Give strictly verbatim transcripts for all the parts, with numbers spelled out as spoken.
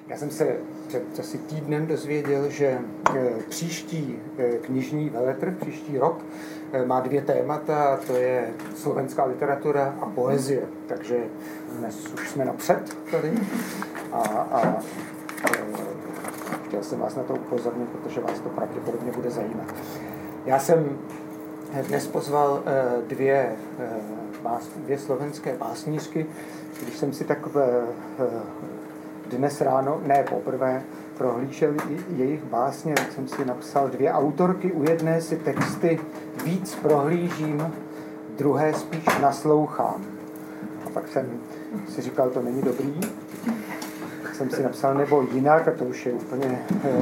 Já jsem se před asi týdnem dozvěděl, že příští knižní veletrh, příští rok, má dvě témata, a to je slovenská literatura a poezie. Takže dnes už jsme napřed tady. A, a chtěl jsem vás na to upozornit, protože vás to pravděpodobně bude zajímat. Já jsem dnes pozval dvě, dvě slovenské básnířky, když jsem si takové dnes ráno, ne poprvé, prohlížel jejich básně, tak jsem si napsal dvě autorky. U jedné si texty víc prohlížím, druhé spíš naslouchám. A pak jsem si říkal, to není dobrý. Tak jsem si napsal nebo jinak, a to už je úplně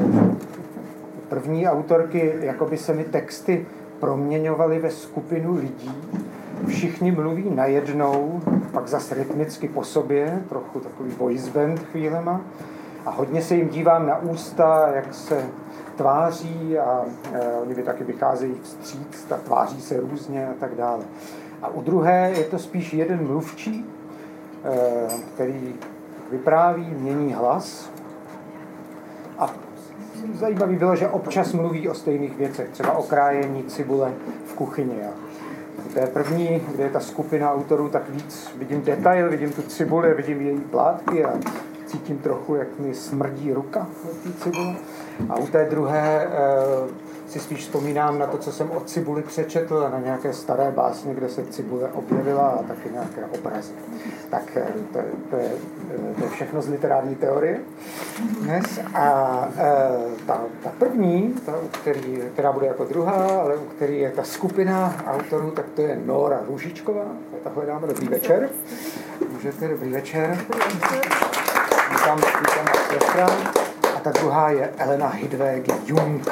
první autorky, jako by se mi texty proměňovaly ve skupinu lidí. Všichni mluví najednou, pak zase rytmicky po sobě, trochu takový voice band chvílema. A hodně se jim dívám na ústa, jak se tváří a e, oni by taky vycházejí vstříc, tak tváří se různě a tak dále. A u druhé je to spíš jeden mluvčí, e, který vypráví, mění hlas. A zajímavý bylo, že občas mluví o stejných věcech, třeba o krájení cibule v kuchyni. To je první, kde je ta skupina autorů, tak víc vidím detail, vidím tu cibuli, vidím její plátky a cítím trochu, jak mi smrdí ruka od té cibule. A u té druhé e, si spíš vzpomínám na to, co jsem o cibuli přečetl a na nějaké staré básně, kde se cibule objevila a taky nějaké obrazy. Tak to, to, je, to je všechno z literární teorie dnes. A e, ta, ta první, ta, který, která bude jako druhá, ale u který je ta skupina autorů, tak to je Nóra Růžičková. Takhle dáme dobrý večer. Můžete, dobrý večer. Vítám, vítám sestra. A ta druhá je Elena Hidvég-Jung.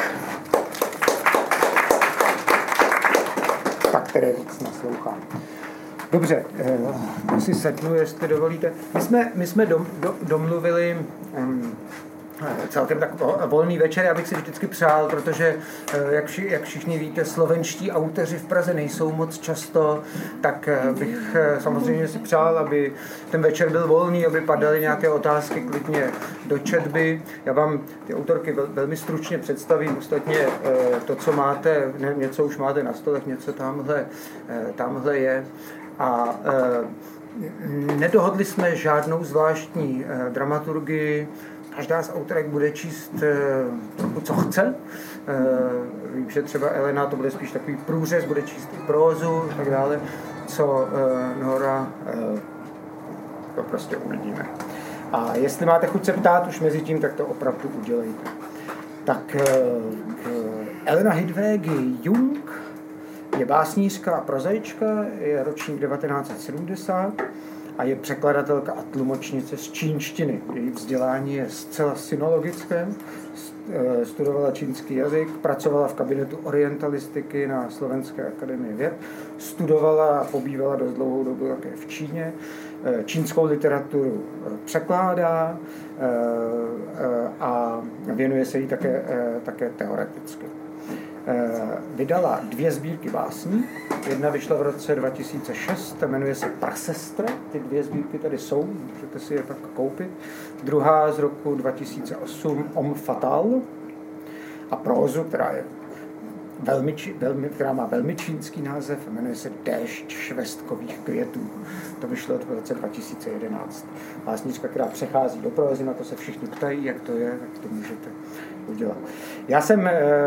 Tak, které víc naslouchám. Dobře, eh, si sednu, jestli dovolíte. My jsme, my jsme dom, do, domluvili um, celkem tak volný večer, já bych si vždycky přál, protože, jak, vši, jak všichni víte, slovenští autoři v Praze nejsou moc často, tak bych samozřejmě si přál, aby ten večer byl volný, aby padaly nějaké otázky klidně do četby. Já vám ty autorky vel, velmi stručně představím, ostatně to, co máte, něco už máte na stolech, něco tamhle, tamhle je. A nedohodli jsme žádnou zvláštní dramaturgii. Každá z autorek bude číst trochu, co chce. Vím, že třeba Elena, to bude spíš takový průřez, bude číst i prózu a tak dále, co Nóra, to prostě uvidíme. A jestli máte chuť se ptát už mezi tím, tak to opravdu udělejte. Tak Elena Hidvég-Jung je básnířka a prozaička, je ročník devatenáct set sedmdesát a je překladatelka a tlumočnice z čínštiny. Její vzdělání je zcela sinologické, studovala čínský jazyk, pracovala v kabinetu orientalistiky na Slovenské akademii věd, studovala a pobývala dost dlouhou dobu také v Číně, čínskou literaturu překládá a věnuje se jí také, také teoreticky. Vydala dvě sbírky básní. Jedna vyšla v roce dva tisíce šest, jmenuje se Prasestra. Ty dvě sbírky tady jsou, můžete si je pak koupit. Druhá z roku dva tisíce osm, Om Fatal. A prózu, která, je velmi, velmi, která má velmi čínský název, jmenuje se Déšť švestkových květů. To vyšlo v roce dva tisíce jedenáct. Básnička, která přechází do prózy, na to se všichni ptají, jak to je, tak to můžete udělat. Já jsem,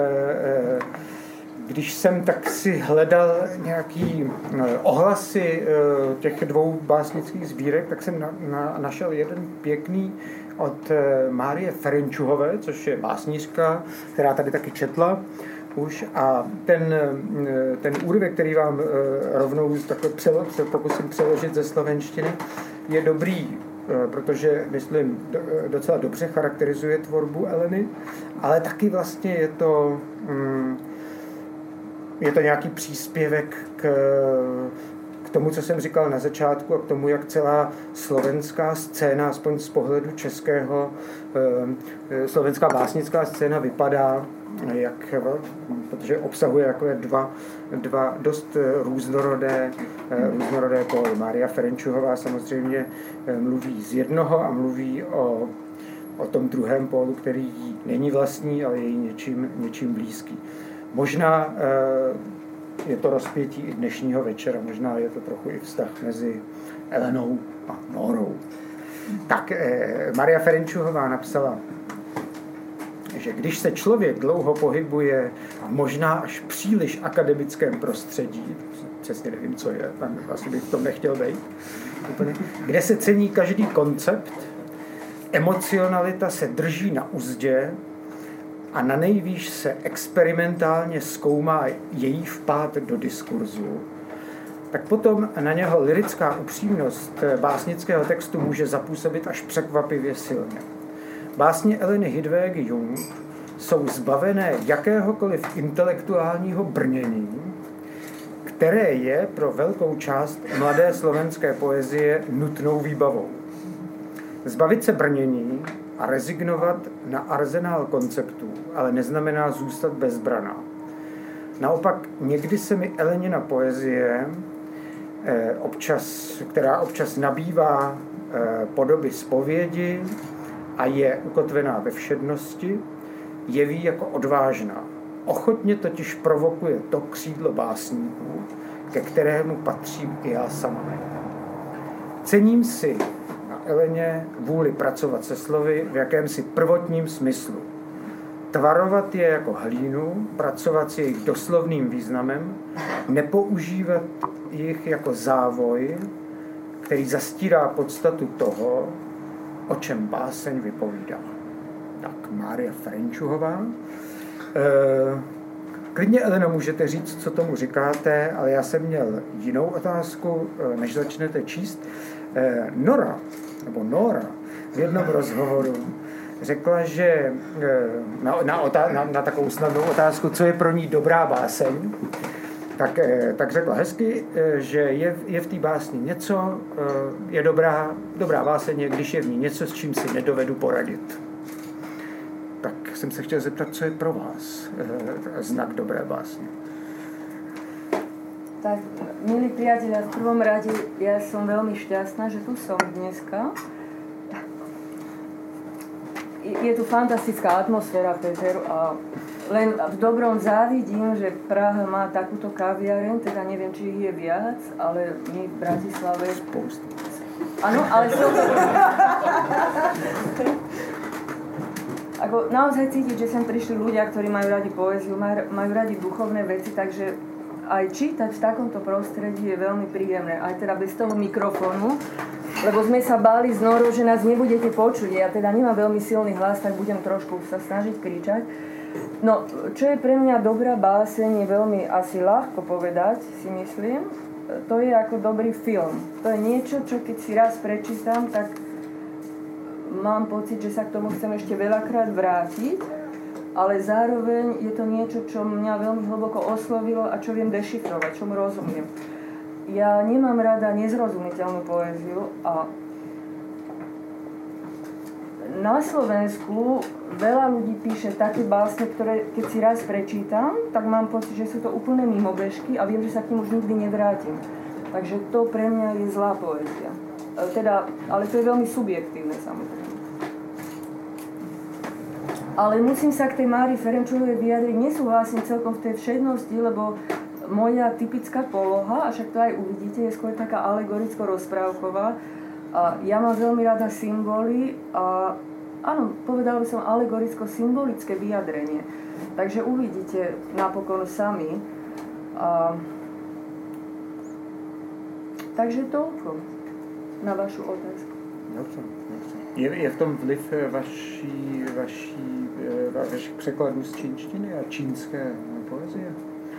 když jsem tak si hledal nějaký ohlasy těch dvou básnických sbírek, tak jsem na, na, našel jeden pěkný od Márie Ferenčuhové, což je básnířka, která tady taky četla už. A ten, ten úryvek, který vám rovnou takhle přelo, pokusím přeložit ze slovenštiny, je dobrý, protože, myslím, docela dobře charakterizuje tvorbu Eleny, ale taky vlastně je to, je to nějaký příspěvek k, k tomu, co jsem říkal na začátku a k tomu, jak celá slovenská scéna, aspoň z pohledu českého, slovenská básnická scéna vypadá, jak, protože obsahuje takové dva, dva dost různorodé, různorodé póly. Mária Ferenčuhová samozřejmě mluví z jednoho a mluví o o tom druhém pólu, který jí není vlastní, ale je jí něčím, něčím blízký. Možná je to rozpětí i dnešního večera, možná je to trochu i vztah mezi Elenou a Nórou. Tak Maria Ferenčuhová napsala, že když se člověk dlouho pohybuje v možná až příliš akademickém prostředí, přesně nevím, co je, tam asi bych v tom nechtěl být, úplně, kde se cení každý koncept, emocionalita se drží na uzdě a na nejvýš se experimentálně zkoumá její vpád do diskurzu, tak potom na něho lirická upřímnost básnického textu může zapůsobit až překvapivě silně. Básně Eleny Hidvégy-Jung jsou zbavené jakéhokoliv intelektuálního brnění, které je pro velkou část mladé slovenské poezie nutnou výbavou. Zbavit se brnění a rezignovat na arzenál konceptů, ale neznamená zůstat bezbraná. Naopak někdy se mi Elenina poezie, občas, která občas nabývá podoby zpovědi a je ukotvená ve všednosti, jeví jako odvážná. Ochotně totiž provokuje to křídlo básníků, ke kterému patřím i já sama. Cením si na Eleně vůli pracovat se slovy v jakémsi prvotním smyslu. Tvarovat je jako hlínu, pracovat s jejich doslovným významem, nepoužívat jich jako závoj, který zastírá podstatu toho, o čem báseň vypovídá. Tak, Mária Ferenčuhová. E, klidně, Eleno, můžete říct, co tomu říkáte, ale já jsem měl jinou otázku, než začnete číst. E, Nora, nebo Nóra, v jednom rozhovoru řekla, že na, na, otá, na, na takovou snadnou otázku, co je pro ní dobrá báseň, tak, tak řekla hezky, že je, je v té básni něco, je dobrá, dobrá báseň, když je v ní něco, s čím si nedovedu poradit. Tak jsem se chtěl zeptat, co je pro vás znak dobré básně. Tak, milí priatelia, v prvom rade ja som veľmi šťastná, že tu som dneska. Je tu fantastická atmosféra, Peter, a len v dobrom závidím, že Praha má takúto kaviareň, teda neviem, či ich je viac, ale my v Bratislave... Spoustu. Áno, ale som to... Ako, naozaj cítiť, že sem prišli ľudia, ktorí majú radi poéziu, majú, majú radi duchovné veci, takže aj čítať v takomto prostredí je veľmi príjemné, aj teda bez toho mikrofónu, lebo sme sa báli z Nórou, že nás nebudete počuť. Ja teda nemám veľmi silný hlas, tak budem trošku sa snažiť kričať. No, čo je pre mňa dobrá báseň, je veľmi asi ľahko povedať, si myslím. To je ako dobrý film. To je niečo, čo keď si raz prečítam, tak mám pocit, že sa k tomu chcem ešte veľakrát vrátiť, ale zároveň je to niečo, čo mňa veľmi hlboko oslovilo a čo viem dešifrovať, čomu rozumiem. Ja nemám rada nezrozumiteľnú poéziu a na Slovensku veľa ľudí píše také básne, ktoré keď si raz prečítam, tak mám pocit, že sú to úplné mimobežky a viem, že sa k nim už nikdy nevrátim. Takže to pre mňa je zlá poézia. Teda, ale to je veľmi subjektívne, samozrejme. Ale musím sa k tej Márii Ferenčuhovej vyjadriť, nesúhlasím celkom v tej všednosti, lebo moja typická poloha, a však to aj uvidíte, je skôr taká alegoricko-rozprávková. A ja mám veľmi rada symboly a áno, povedala by som alegoricko-symbolické vyjadrenie. Takže uvidíte napokon sami. A... Takže toľko na vašu otázku. Dobře, dobře. Je, je v tom vliv vaší, vaší, vašich překladů z čínštiny a čínské poezie?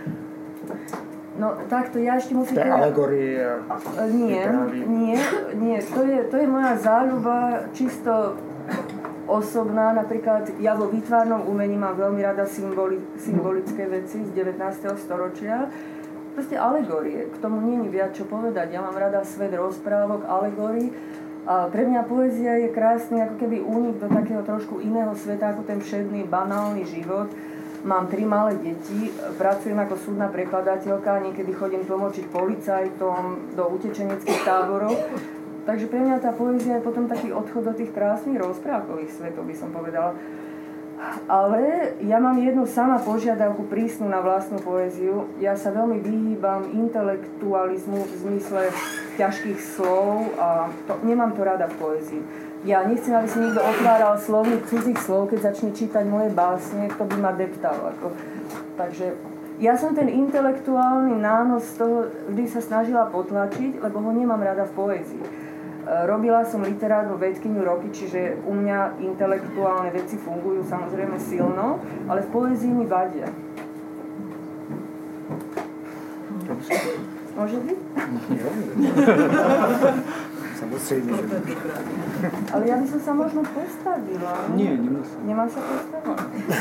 No takto, ja ešte musím... To je alegorie a... Nie, nie, nie. To je, to je moja záľuba čisto osobná. Napríklad ja vo výtvarnom umení mám veľmi rada symboli, symbolické veci z devätnásteho storočia. Proste alegorie. K tomu nie je viac čo povedať. Ja mám rada svet rozprávok, alegórií. A pre mňa poézia je krásny ako keby únik do takého trošku iného sveta, ako ten všedný, banálny život. Mám tri malé deti, pracujem ako súdna prekladateľka, niekedy chodím tlmočiť policajtom do utečeneckých táborov. takže pre mňa tá poézia je potom taký odchod do tých krásnych rozprávkových svetov, by som povedala. Ale ja mám jednu sama požiadavku prísnu na vlastnú poéziu. Ja sa veľmi vyhýbam intelektualizmu v zmysle ťažkých slov a to, nemám to rada v poézii. Ja nechcem, aby si niekto otváral slovník cudzích slov, keď začne čítať moje básne, to by ma deptal. Ako. Takže ja som ten intelektuálny nános z toho vždy sa snažila potlačiť, lebo ho nemám rada v poézii. Robila som literárnu vedkyňu roky, čiže u mňa intelektuálne veci fungujú samozrejme silno, ale v poézii mi vadia. Môže byť? Samozrejme, že ale ja by som sa možno postavila. Nie, nemusím. Nemám sa postaviť?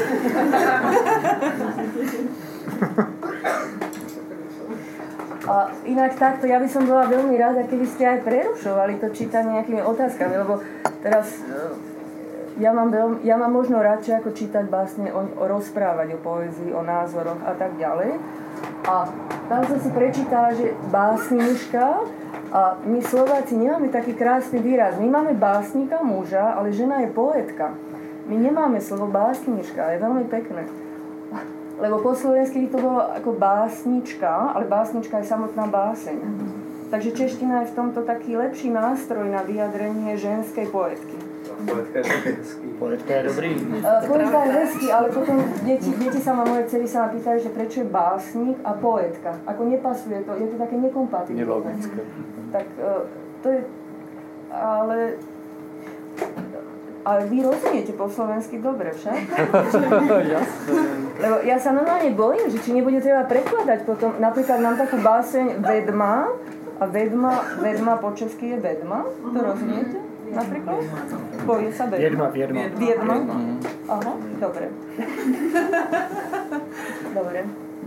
A inak takto, ja by som bola veľmi rada, keby ste aj prerušovali to čítanie nejakými otázkami, lebo teraz ja mám, veľmi, ja mám možno radšej ako čítať básne, o, o rozprávať o poézii, o názoroch a tak ďalej. A tam som si prečítala, že básnička, a my Slováci nemáme taký krásny výraz. My máme básnika muža, ale žena je poetka. My nemáme slovo básnička, je veľmi pekné. Lebo po slovensky by to bolo ako básnička, ale básnička je samotná báseň. Takže čeština je v tomto taký lepší nástroj na vyjadrenie ženskej poetky. Poetka je hezký. Poetka je dobrý. Uh, poetka je hezký, ale potom deti, deti sa ma, moje dcery sa ma pýtajú, že prečo je básnik a poetka. Ako nepasuje to, je to také nekompatibilné. Nelogické. Tak uh, to je, ale... Ale vy rozumiete po slovensky dobre, však? Jasné. Lebo ja sa normálne bojím, že či nebude treba prekladať potom. Napríklad mám takú báseň Vedma a Vedma, Vedma po česky je Vedma. To rozumiete? Napríklad? Povie sa Vedma. Viedma, Viedma. Viedma? Aha, dobre. Dobre.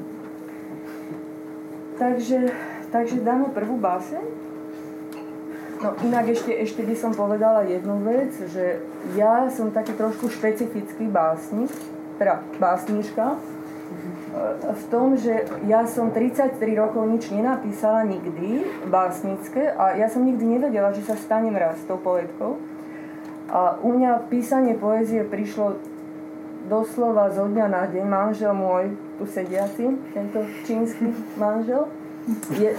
Takže, takže dáme prvú báseň. No inak ešte, ešte by som povedala jednu vec, že ja som taký trošku špecifický básnik, teda básnička, v tom, že ja som tridsaťtri rokov nič nenapísala nikdy básnické a ja som nikdy nevedela, že sa stanem raz tou poetkou. A u mňa písanie poézie prišlo doslova zo dňa na deň. Manžel môj, tu sediaci, tento čínsky manžel, je...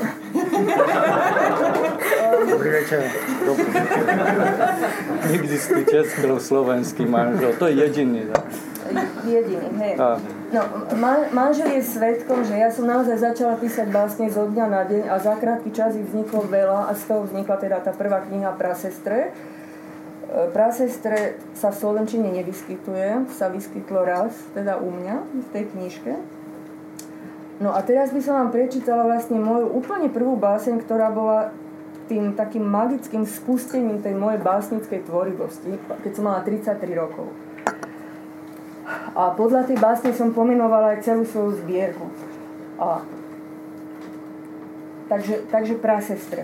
Dobrý večer. Neexistuje česko-slovenský manžel, to je jediný. Tak? Jediný, hej. A. No, man, manžel je svedkom, že ja som naozaj začala písať básne zo dňa na deň a za krátky čas ich vzniklo veľa a z toho vznikla teda tá prvá kniha Prasestre. Prasestre sa v slovenčine nevyskytuje, sa vyskytlo raz, teda u mňa, v tej knižke. No a teraz by som vám prečítala vlastne moju úplne prvú báseň, ktorá bola tým takým magickým spustením tej mojej básnickej tvorivosti, keď som mala tridsaťtri rokov. A podľa tej básne som pomenovala aj celú svoju zbierku. A... Takže, takže Prasestre.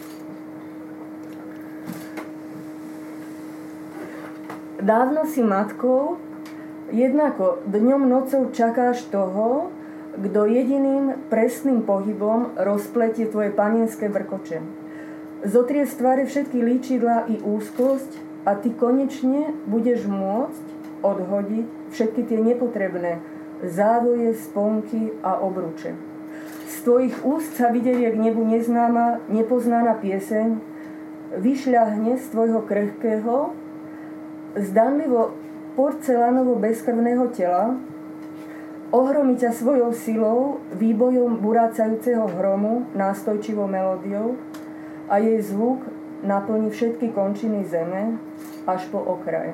Dávno si matkou, jednako dňom nocou čakáš toho, kto jediným presným pohybom rozpletie tvoje panienské vrkoče. Zotrie z tváre všetky líčidlá i úzkosť a ty konečne budeš môcť odhodiť všetky tie nepotrebné závoje, sponky a obruče. Z tvojich úst sa vyderie k nebu neznáma, nepoznaná pieseň, vyšľahne z tvojho krehkého, zdanlivo porcelánovo bezkrvného tela, ohromí ťa svojou silou, výbojom burácajúceho hromu, nástojčivou melódiou a jej zvuk naplní všetky končiny zeme až po okraj.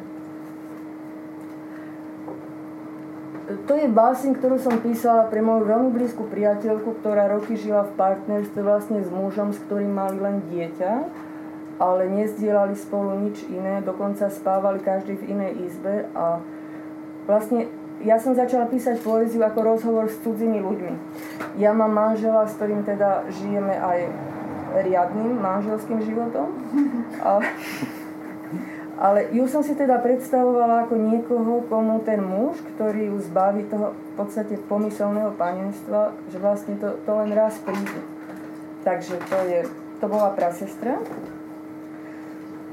To je báseň, ktorú som písala pre moju veľmi blízku priateľku, ktorá roky žila v partnerstve vlastne s mužom, s ktorým mali len dieťa, ale nezdielali spolu nič iné, dokonca spávali každý v inej izbe a vlastne ja som začala písať poéziu ako rozhovor s cudzými ľuďmi. Ja mám manžela, s ktorým teda žijeme aj riadnym manželským životom. Ale, ale ju som si teda predstavovala ako niekoho, komu ten muž, ktorý ju zbaví toho v podstate pomyselného panenstva, že vlastne to, to len raz príde. Takže to je, to bola Prasestra.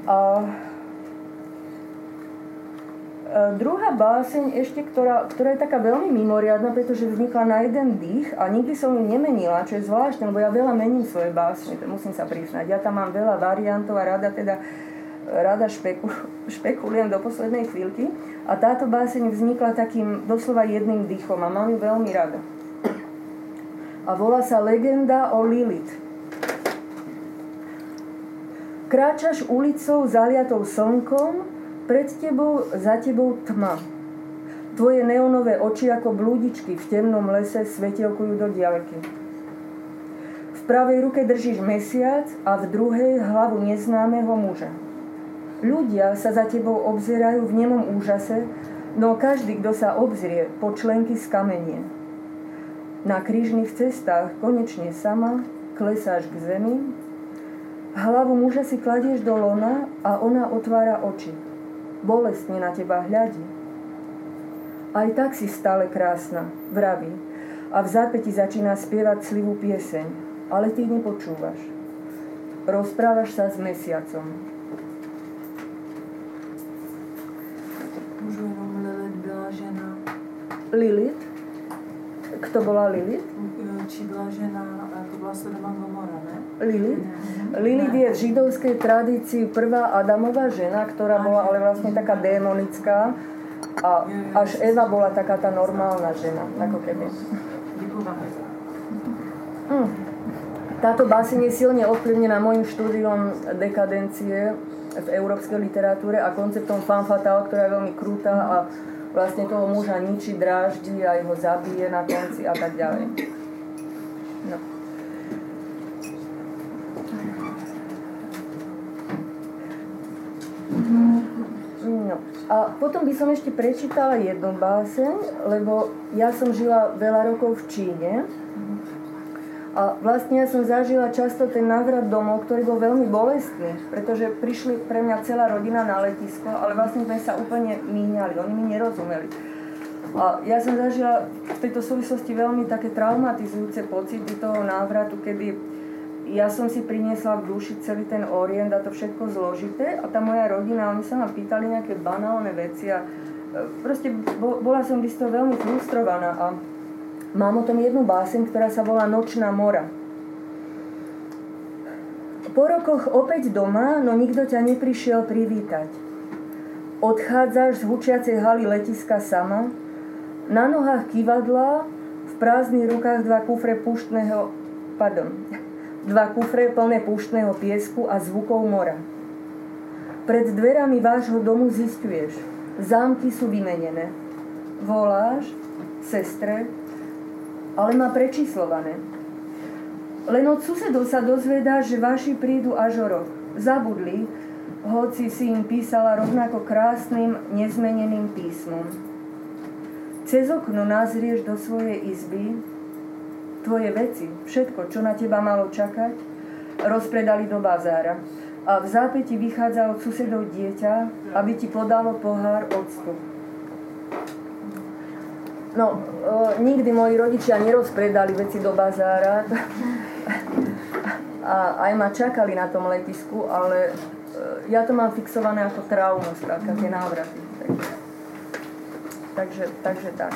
A druhá báseň ešte, ktorá, ktorá je taká veľmi mimoriadna, pretože vznikla na jeden dých a nikdy som ju nemenila, čo je zvláštne, lebo ja veľa mením svoje básne, musím sa priznať. Ja tam mám veľa variantov a rada teda rada špeku, špekulujem do poslednej chvíľky. A táto báseň vznikla takým doslova jedným dýchom a mám ju veľmi rada. A volá sa Legenda o Lilith. Kráčaš ulicou zaliatou slnkom, pred tebou, za tebou tma. Tvoje neonové oči ako blúdičky v temnom lese svetielkujú do diaľky. V pravej ruke držíš mesiac a v druhej hlavu neznámeho muža. Ľudia sa za tebou obzerajú v nemom úžase, no každý, kto sa obzrie, po členky skamenie. Na krížnych cestách konečne sama klesáš k zemi, hlavu muža si kladieš do lona a ona otvára oči. Bolestne na teba hľadí. Aj tak si stále krásna, vraví. A v zápäti začína spievať slivú pieseň. Ale ty nepočúvaš. Rozprávaš sa s mesiacom. Môžu jenom Lilith byla žena. Lilith? Kto bola Lilith? Či byla žena, to bola Sodoma Gomora, ne? Lilith? Lilith je v židovskej tradícii prvá Adamová žena, ktorá bola ale vlastne taká démonická a až Eva bola taká tá normálna žena, ako keby. Hm. Táto báseň je silne ovplyvnená môjim štúdiom dekadencie v európskej literatúre a konceptom femme fatale, ktorá je veľmi krutá a vlastne toho muža ničí, dráždi a ho zabije na konci a tak ďalej. No. No. A potom by som ešte prečítala jednu báseň, lebo ja som žila veľa rokov v Číne a vlastne ja som zažila často ten návrat domov, ktorý bol veľmi bolestný, pretože prišli pre mňa celá rodina na letisko, ale vlastne sme sa úplne míňali, oni mi nerozumeli. A ja som zažila v tejto súvislosti veľmi také traumatizujúce pocity toho návratu, kedy ja som si priniesla v duši celý ten Orient a to všetko zložité a tá moja rodina, oni sa ma pýtali nejaké banálne veci a proste bola som by z toho veľmi frustrovaná a mám o tom jednu báseň, ktorá sa volá Nočná mora. Po rokoch opäť doma, no nikto ťa neprišiel privítať. Odchádzaš z hučiacej haly letiska sama, na nohách kývadla, v prázdnych rukách dva kufre púštneho, pardon, dva kufre plné púštneho piesku a zvukov mora. Pred dverami vášho domu zisťuješ, zámky sú vymenené. Voláš sestre, ale má prečíslované. Len od susedov sa dozvedá, že vaši prídu až o rok. Zabudli, hoci si im písala rovnako krásnym, nezmeneným písmom. Cez okno nazrieš do svojej izby, tvoje veci, všetko, čo na teba malo čakať, rozpredali do bazára. A v zápäti vychádza od susedov dieťa, aby ti podalo pohár octu. No, e, nikdy moji rodičia nerozpredali veci do bazára a aj ma čakali na tom letisku, ale e, ja to mám fixované ako traumu, skrátka, tie návraty. Takže, takže tak.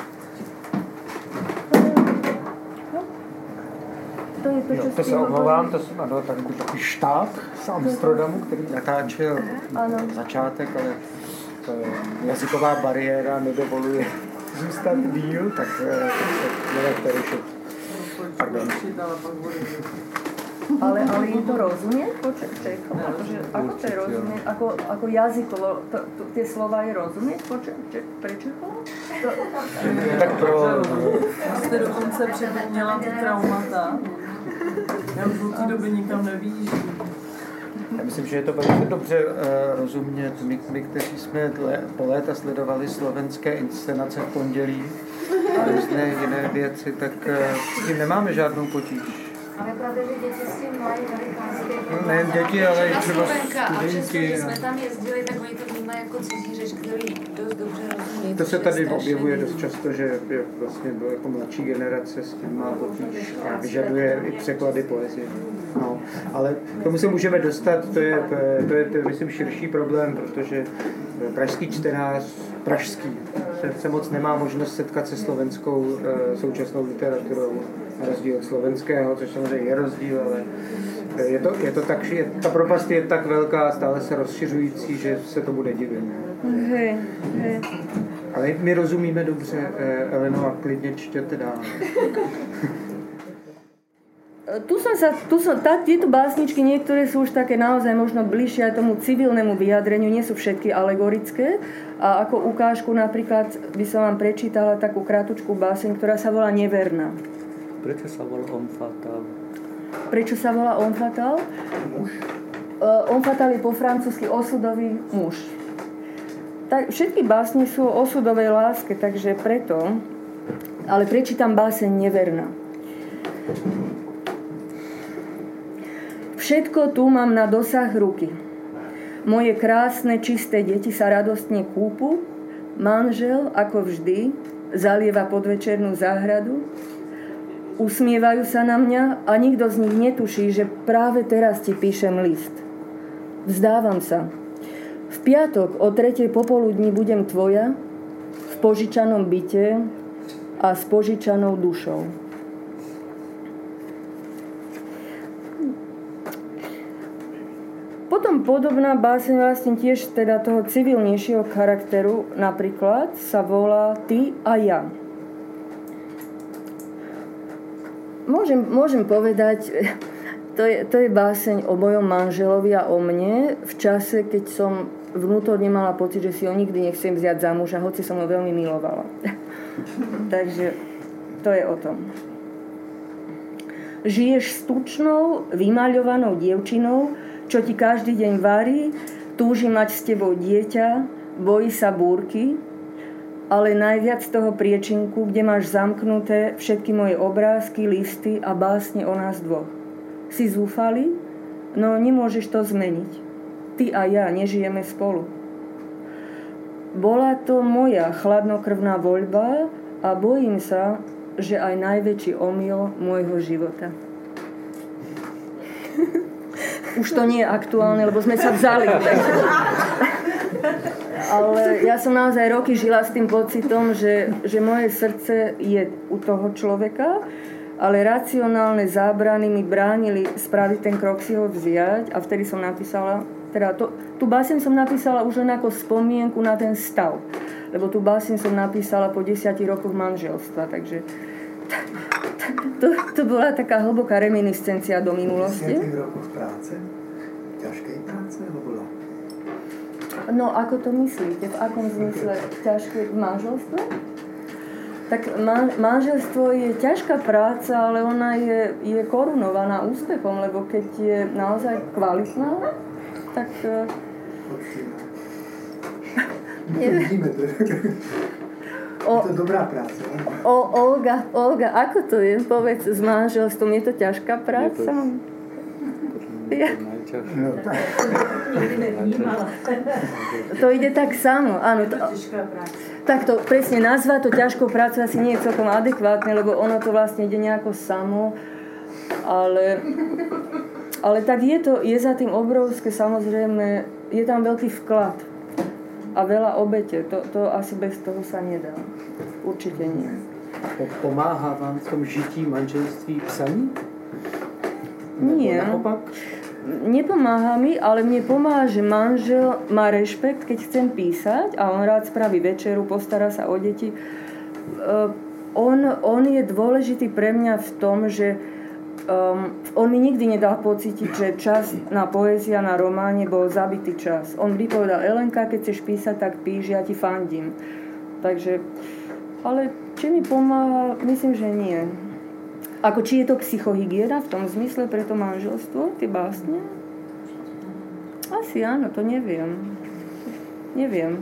No. To je to, čo jo, to se omlouvám, to jsem ano, tam takový štáb z Amsterdamu, který natáčel ano. začátek, ale to je jazyková bariéra nedovoluje zůstat díl, tak se neveďte rušit. Pardon. Ale, ale je to rozumieť po Čechom? Akože, ako to je rozumieť? Ako, ako jazykovo, to, to, tie slova je rozumieť po Čechom? Tak pro... Jste dokonce připomněla ty traumata. Já už od té doby nikam nevyjíždím. Já myslím, že je to velice dobře uh, rozumět. My, my, kteří jsme dle, po léta sledovali slovenské inscenace v pondělí a různé jiné věci, tak uh, s tím nemáme žádnou potíž. Ale pravda, že děti s tím mají velikánské problémy. Nejen děti, ale i třeba studenti. A přesto, že jsme tam jezdili, tak oni to vnímají jako cizí řeč, který dost dobře rozumí. to se tady objevuje dost často, že vlastně jako mladší generace s tím má potíž a vyžaduje i překlady poezie. No, ale k tomu se můžeme dostat, to je, to je, to je myslím, širší problém, protože pražský čtenář, pražský, se, se moc nemá možnost setkat se slovenskou e, současnou literaturou, na rozdíl od slovenského, což samozřejmě je rozdíl, ale je to, je to tak, že ta propast je tak velká, stále se rozšiřující, že se tomu nedivím. Hej, hej. Ale my rozumíme dobře, Eleno, a klidně čtěte dál. Tu som sa, tu som, tá, tieto básničky, niektoré sú už také naozaj možno bližšie aj tomu civilnému vyjadreniu, nie sú všetky alegorické. A ako ukážku napríklad by som vám prečítala takú kratučkú báseň, ktorá sa volá Neverná. Prečo sa volá Homme Fatale? Prečo sa volá Homme Fatale? Muž. Uh, Homme Fatale je po francúzsky osudový muž. Tak, všetky básne sú o osudovej láske, takže preto, ale prečítam báseň Neverná. Všetko tu mám na dosah ruky. Moje krásne, čisté deti sa radostne kúpu. Manžel, ako vždy, zalieva podvečernú záhradu. Usmievajú sa na mňa a nikto z nich netuší, že práve teraz ti píšem list. Vzdávam sa. V piatok o tretej popoludní budem tvoja, v požičanom byte a s požičanou dušou. Potom podobná báseň vlastne tiež teda toho civilnejšieho charakteru napríklad sa volá Ty a ja. Môžem, môžem povedať, to je, to je báseň o mojom manželovi a o mne v čase, keď som vnútorne mala pocit, že si ho nikdy nechcem vziať za muža, hoci som ho veľmi milovala. Takže to je o tom. Žiješ s tučnou, vymaľovanou dievčinou, čo ti každý deň varí, túži mať s tebou dieťa, bojí sa búrky, ale najviac toho priečinku, kde máš zamknuté všetky moje obrázky, listy a básne o nás dvoch. Si zúfali? No nemôžeš to zmeniť. Ty a ja nežijeme spolu. Bola to moja chladnokrvná voľba a bojím sa, že aj najväčší omyl môjho života. Už to nie je aktuálne, lebo sme sa vzali. Ale ja som naozaj roky žila s tým pocitom, že, že moje srdce je u toho človeka, ale racionálne zábrany mi bránili spraviť ten krok si ho vziať a vtedy som napísala, teda to, tú báseň som napísala už len ako spomienku na ten stav, lebo tú báseň som napísala po desiatich rokoch manželstva, takže to, to bola taká hlboká reminiscencia do minulosti. desiatich rokoch práce? Ťažkej práce? Alebo... No, ako to myslíte? V akom zmysle ťažké v manželstve? Tak man, manželstvo je ťažká práca, ale ona je, je korunovaná úspechom, lebo keď je naozaj kvalitná, tak... Nevidíme to. O, je to dobrá práca. O, Olga, Olga, ako to je? Povedz, s manželstvom je to ťažká práca? Je to, to, to, no, tak. to ide tak samo, áno. To, tak to presne nazva to ťažkou prácu asi nie je celkom adekvátne, lebo ono to vlastne ide nejako samo, ale, ale tak je to, je za tým obrovské, samozrejme, je tam veľký vklad a veľa obete, to, to asi bez toho sa nedá, určite nie. Pomáhá vám v tom žití manželství psaní? Nie. Naopak? Nepomáha mi, ale mne pomáha, že manžel má rešpekt, keď chcem písať a on rád spraví večeru, postará sa o deti. Uh, on, on je dôležitý pre mňa v tom, že um, on mi nikdy nedal pocítiť, že čas na poézia, na románe bol zabitý čas. On vždy povedal, Elenka, keď chceš písať, tak píš, ja ti fandím. Takže, ale či mi pomáha, myslím, že nie. Ako či je to psychohygiena v tom zmysle pre to manželstvo, tie básne? Asi áno, to neviem. Neviem.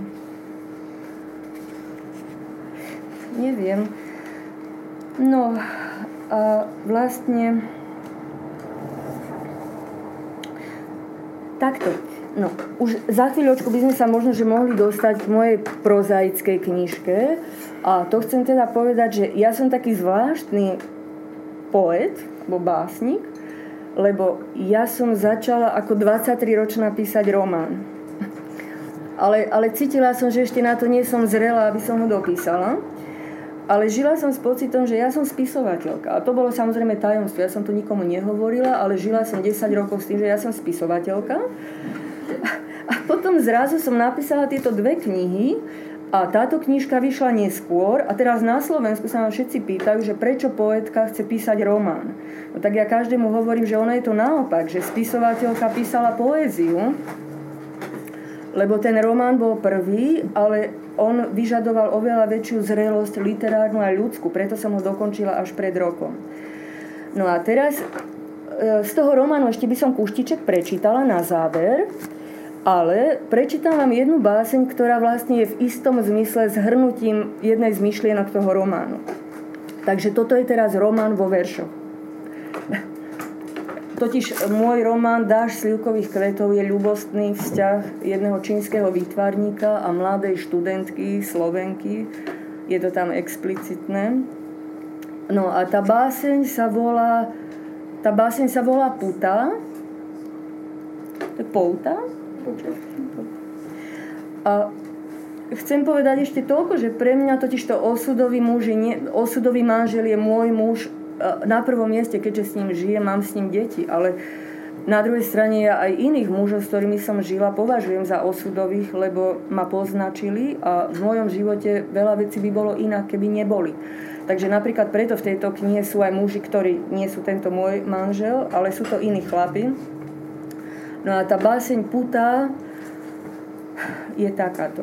Neviem. No a vlastne takto. No, už za chvíľočku by sme sa možno že mohli dostať k mojej prozaickej knižke. A to chcem teda povedať, že ja som taký zvláštny poet, alebo básnik, lebo ja som začala ako dvadsaťtriročná písať román. Ale, ale cítila som, že ešte na to nie som zrela, aby som ho dopísala. Ale žila som s pocitom, že ja som spisovateľka. A to bolo samozrejme tajomstvo. Ja som to nikomu nehovorila, ale žila som desať rokov s tým, že ja som spisovateľka. A potom zrazu som napísala tieto dve knihy a táto knižka vyšla neskôr a teraz na Slovensku sa ma všetci pýtajú, že prečo poetka chce písať román. No tak ja každému hovorím, že ono je to naopak, že spisovateľka písala poéziu, lebo ten román bol prvý, ale on vyžadoval oveľa väčšiu zrelosť literárnu a ľudskú, preto som ho dokončila až pred rokom. No a teraz z toho románu ešte by som kúštiček prečítala na záver, ale prečítam vám jednu báseň, ktorá vlastne je v istom zmysle zhrnutím jednej z myšlienok toho románu. Takže toto je teraz román vo veršoch. Totiž môj román Dážď slivkových kvetov je ľubostný vzťah jedného čínskeho výtvarníka a mladej študentky Slovenky. Je to tam explicitné. No a tá báseň sa volá tá báseň sa volá Puta. To je pouta. A chcem povedať ešte toľko, že pre mňa totiž to osudový muž je nie, osudový manžel je môj muž na prvom mieste, keďže s ním žijem, mám s ním deti, ale na druhej strane ja aj iných mužov, s ktorými som žila, považujem za osudových, lebo ma poznačili a v mojom živote veľa vecí by bolo inak, keby neboli. Takže napríklad preto v tejto knihe sú aj muži, ktorí nie sú tento môj manžel, ale sú to iní chlapi. No a tá báseň Puta je takáto.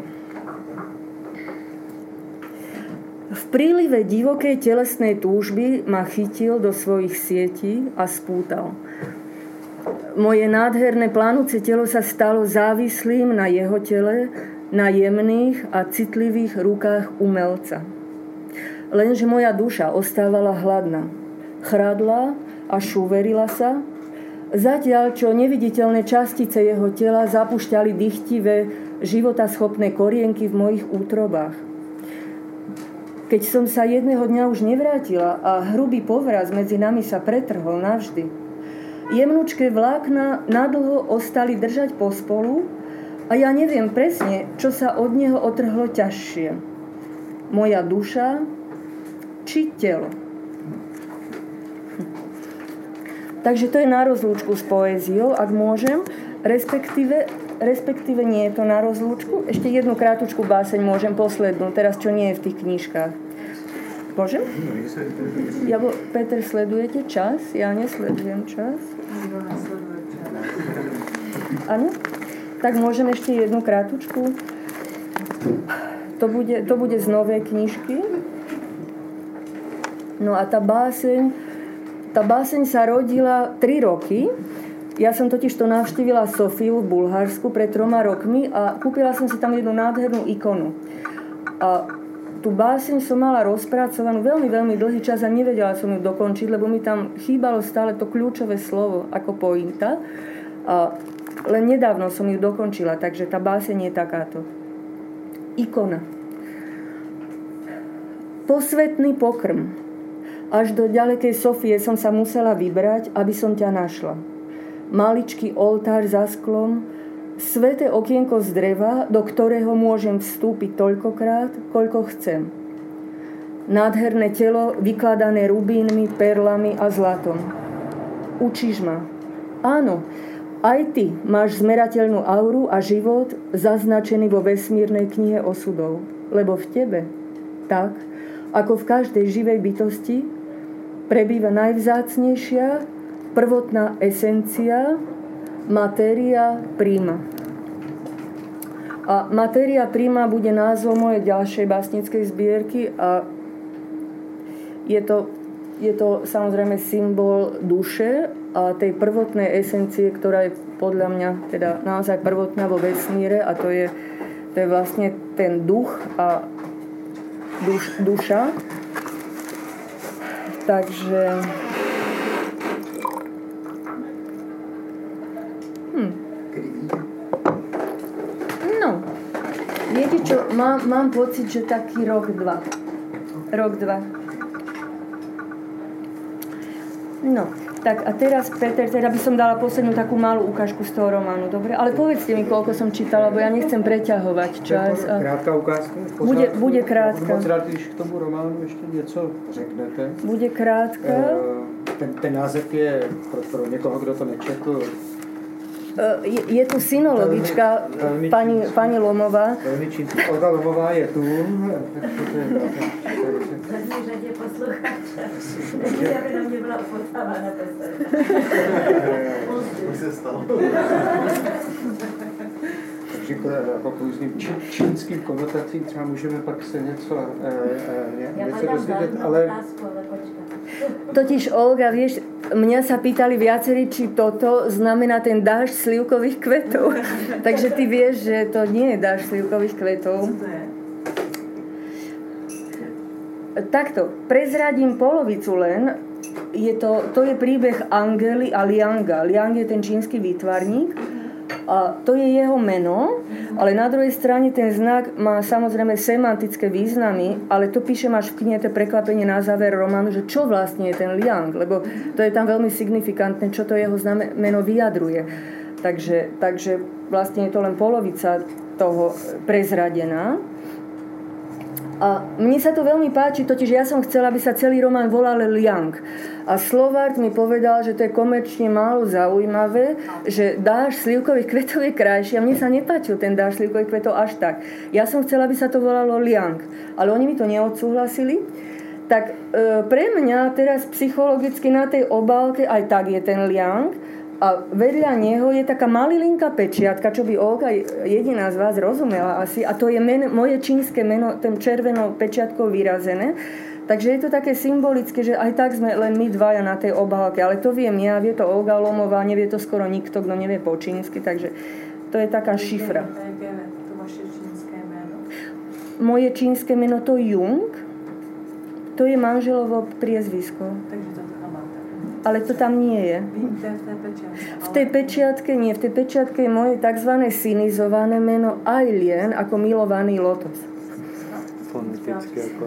V prílive divokej telesnej túžby ma chytil do svojich sietí a spútal. Moje nádherné plánúce telo sa stalo závislým na jeho tele, na jemných a citlivých rukách umelca. Lenže moja duša ostávala hladná. Chradla a šuverila sa, zatiaľ čo neviditeľné častice jeho tela zapúšťali dychtivé, životaschopné korienky v mojich útrobách. Keď som sa jedného dňa už nevrátila a hrubý povraz medzi nami sa pretrhol navždy, jemnúčké vlákna nadlho ostali držať pospolu a ja neviem presne, čo sa od neho otrhlo ťažšie. Moja duša či telo. Takže to je na rozlúčku s poéziou, ak môžem, respektíve, respektíve nie je to na rozlúčku. Ešte jednu krátučku báseň môžem, poslednú, teraz čo nie je v tých knižkách. Môžem? Ja, Peter, sledujete čas? Ja nesledujem čas. Áno? Tak môžem ešte jednu krátučku. To bude, to bude z novej knižky. No a tá báseň Tá báseň sa rodila tri roky. Ja som totiž to navštívila Sofiu v Bulharsku pred troma rokmi a kúpila som si tam jednu nádhernú ikonu. A tú báseň som mala rozpracovanú veľmi, veľmi dlhý čas a nevedela som ju dokončiť, lebo mi tam chýbalo stále to kľúčové slovo ako pointa. A len nedávno som ju dokončila, takže tá báseň je takáto. Ikona. Posvetný pokrm. Až do ďalekej Sofie som sa musela vybrať, aby som ťa našla. Maličký oltár za sklom, sveté okienko z dreva, do ktorého môžem vstúpiť toľkokrát, koľko chcem. Nádherné telo vykladané rubínmi, perlami a zlatom. Učíš ma. Áno, aj ty máš zmerateľnú auru a život zaznačený vo vesmírnej knihe osudov. Lebo v tebe, tak ako v každej živej bytosti, prebýva najvzácnejšia, prvotná esencia, materia prima. A materia prima bude názov mojej ďalšej básnickej zbierky a je to, je to samozrejme symbol duše a tej prvotnej esencie, ktorá je podľa mňa teda naozaj prvotná vo vesmíre a to je, to je vlastne ten duch a duš, duša. Takže hm. to, mám, mám pocit, že taký rok, dva. Rok, dva. No, tak a teraz, Peter, teda by som dala poslednú takú malú ukážku z toho románu, dobre? Ale povedzte mi, koľko som čítala, lebo ja nechcem preťahovať čas. A... Krátka ukázka? Bude, bude krátka. Moc rád, když k tomu románu ještě něco řeknete. Bude krátka. Ten, ten název je pro, pro někoho, kdo to nečetl. Je, je tu synologička, veľmi, pani, pani Lomová. Veľmi čínsky. Olga Lomová je tu. Zadní řadě posluchača. Já by na mě byla potávána posluchača. Už se stalo. Takže jako k různým či, čínským konotacím třeba můžeme pak se něco, e, e, něco dozvědět, ale... Totiž, Olga, vieš, mňa sa pýtali viacerí, či toto znamená ten dážď slivkových kvetov. Takže ty vieš, že to nie je dážď slivkových kvetov. Takto, prezradím polovicu len. Je to, to je príbeh Angely a Lianga. Liang je ten čínsky výtvarník. A to je jeho meno, ale na druhej strane ten znak má samozrejme semantické významy, ale to píšem až v knihe, to prekvapenie na záver románu, že čo vlastne je ten Liang, lebo to je tam veľmi signifikantné, čo to jeho meno vyjadruje. Takže, takže vlastne je to len polovica toho prezradená. A mne sa to veľmi páči, totiž ja som chcela, aby sa celý román volal Liang. A Slovart mi povedal, že to je komerčne málo zaujímavé, že dážď slivkových kvetov je krajší a mne sa nepáčil ten dážď slivkových kvetov až tak. Ja som chcela, aby sa to volalo Liang, ale oni mi to neodsúhlasili. Tak e, pre mňa teraz psychologicky na tej obálke aj tak je ten Liang a vedľa neho je taká malilinká pečiatka, čo by Olga jediná z vás rozumela asi, a to je meno, moje čínske meno, ten červenou pečiatkou vyrazené. Takže je to také symbolické, že aj tak sme len my dvaja na tej obálke, ale to viem ja, vie to Olga Lomová, nevie to skoro nikto, kto nevie po čínsky, takže to je taká šifra. To vaše čínske meno? Moje čínske meno to Jung, to je manželovo priezvisko. Takže to tam máte. Ale to tam nie je. V tej pečiatke nie, v tej pečiatke je moje tzv. Sinizované meno Ailien, ako milovaný lotos. Fonetické ako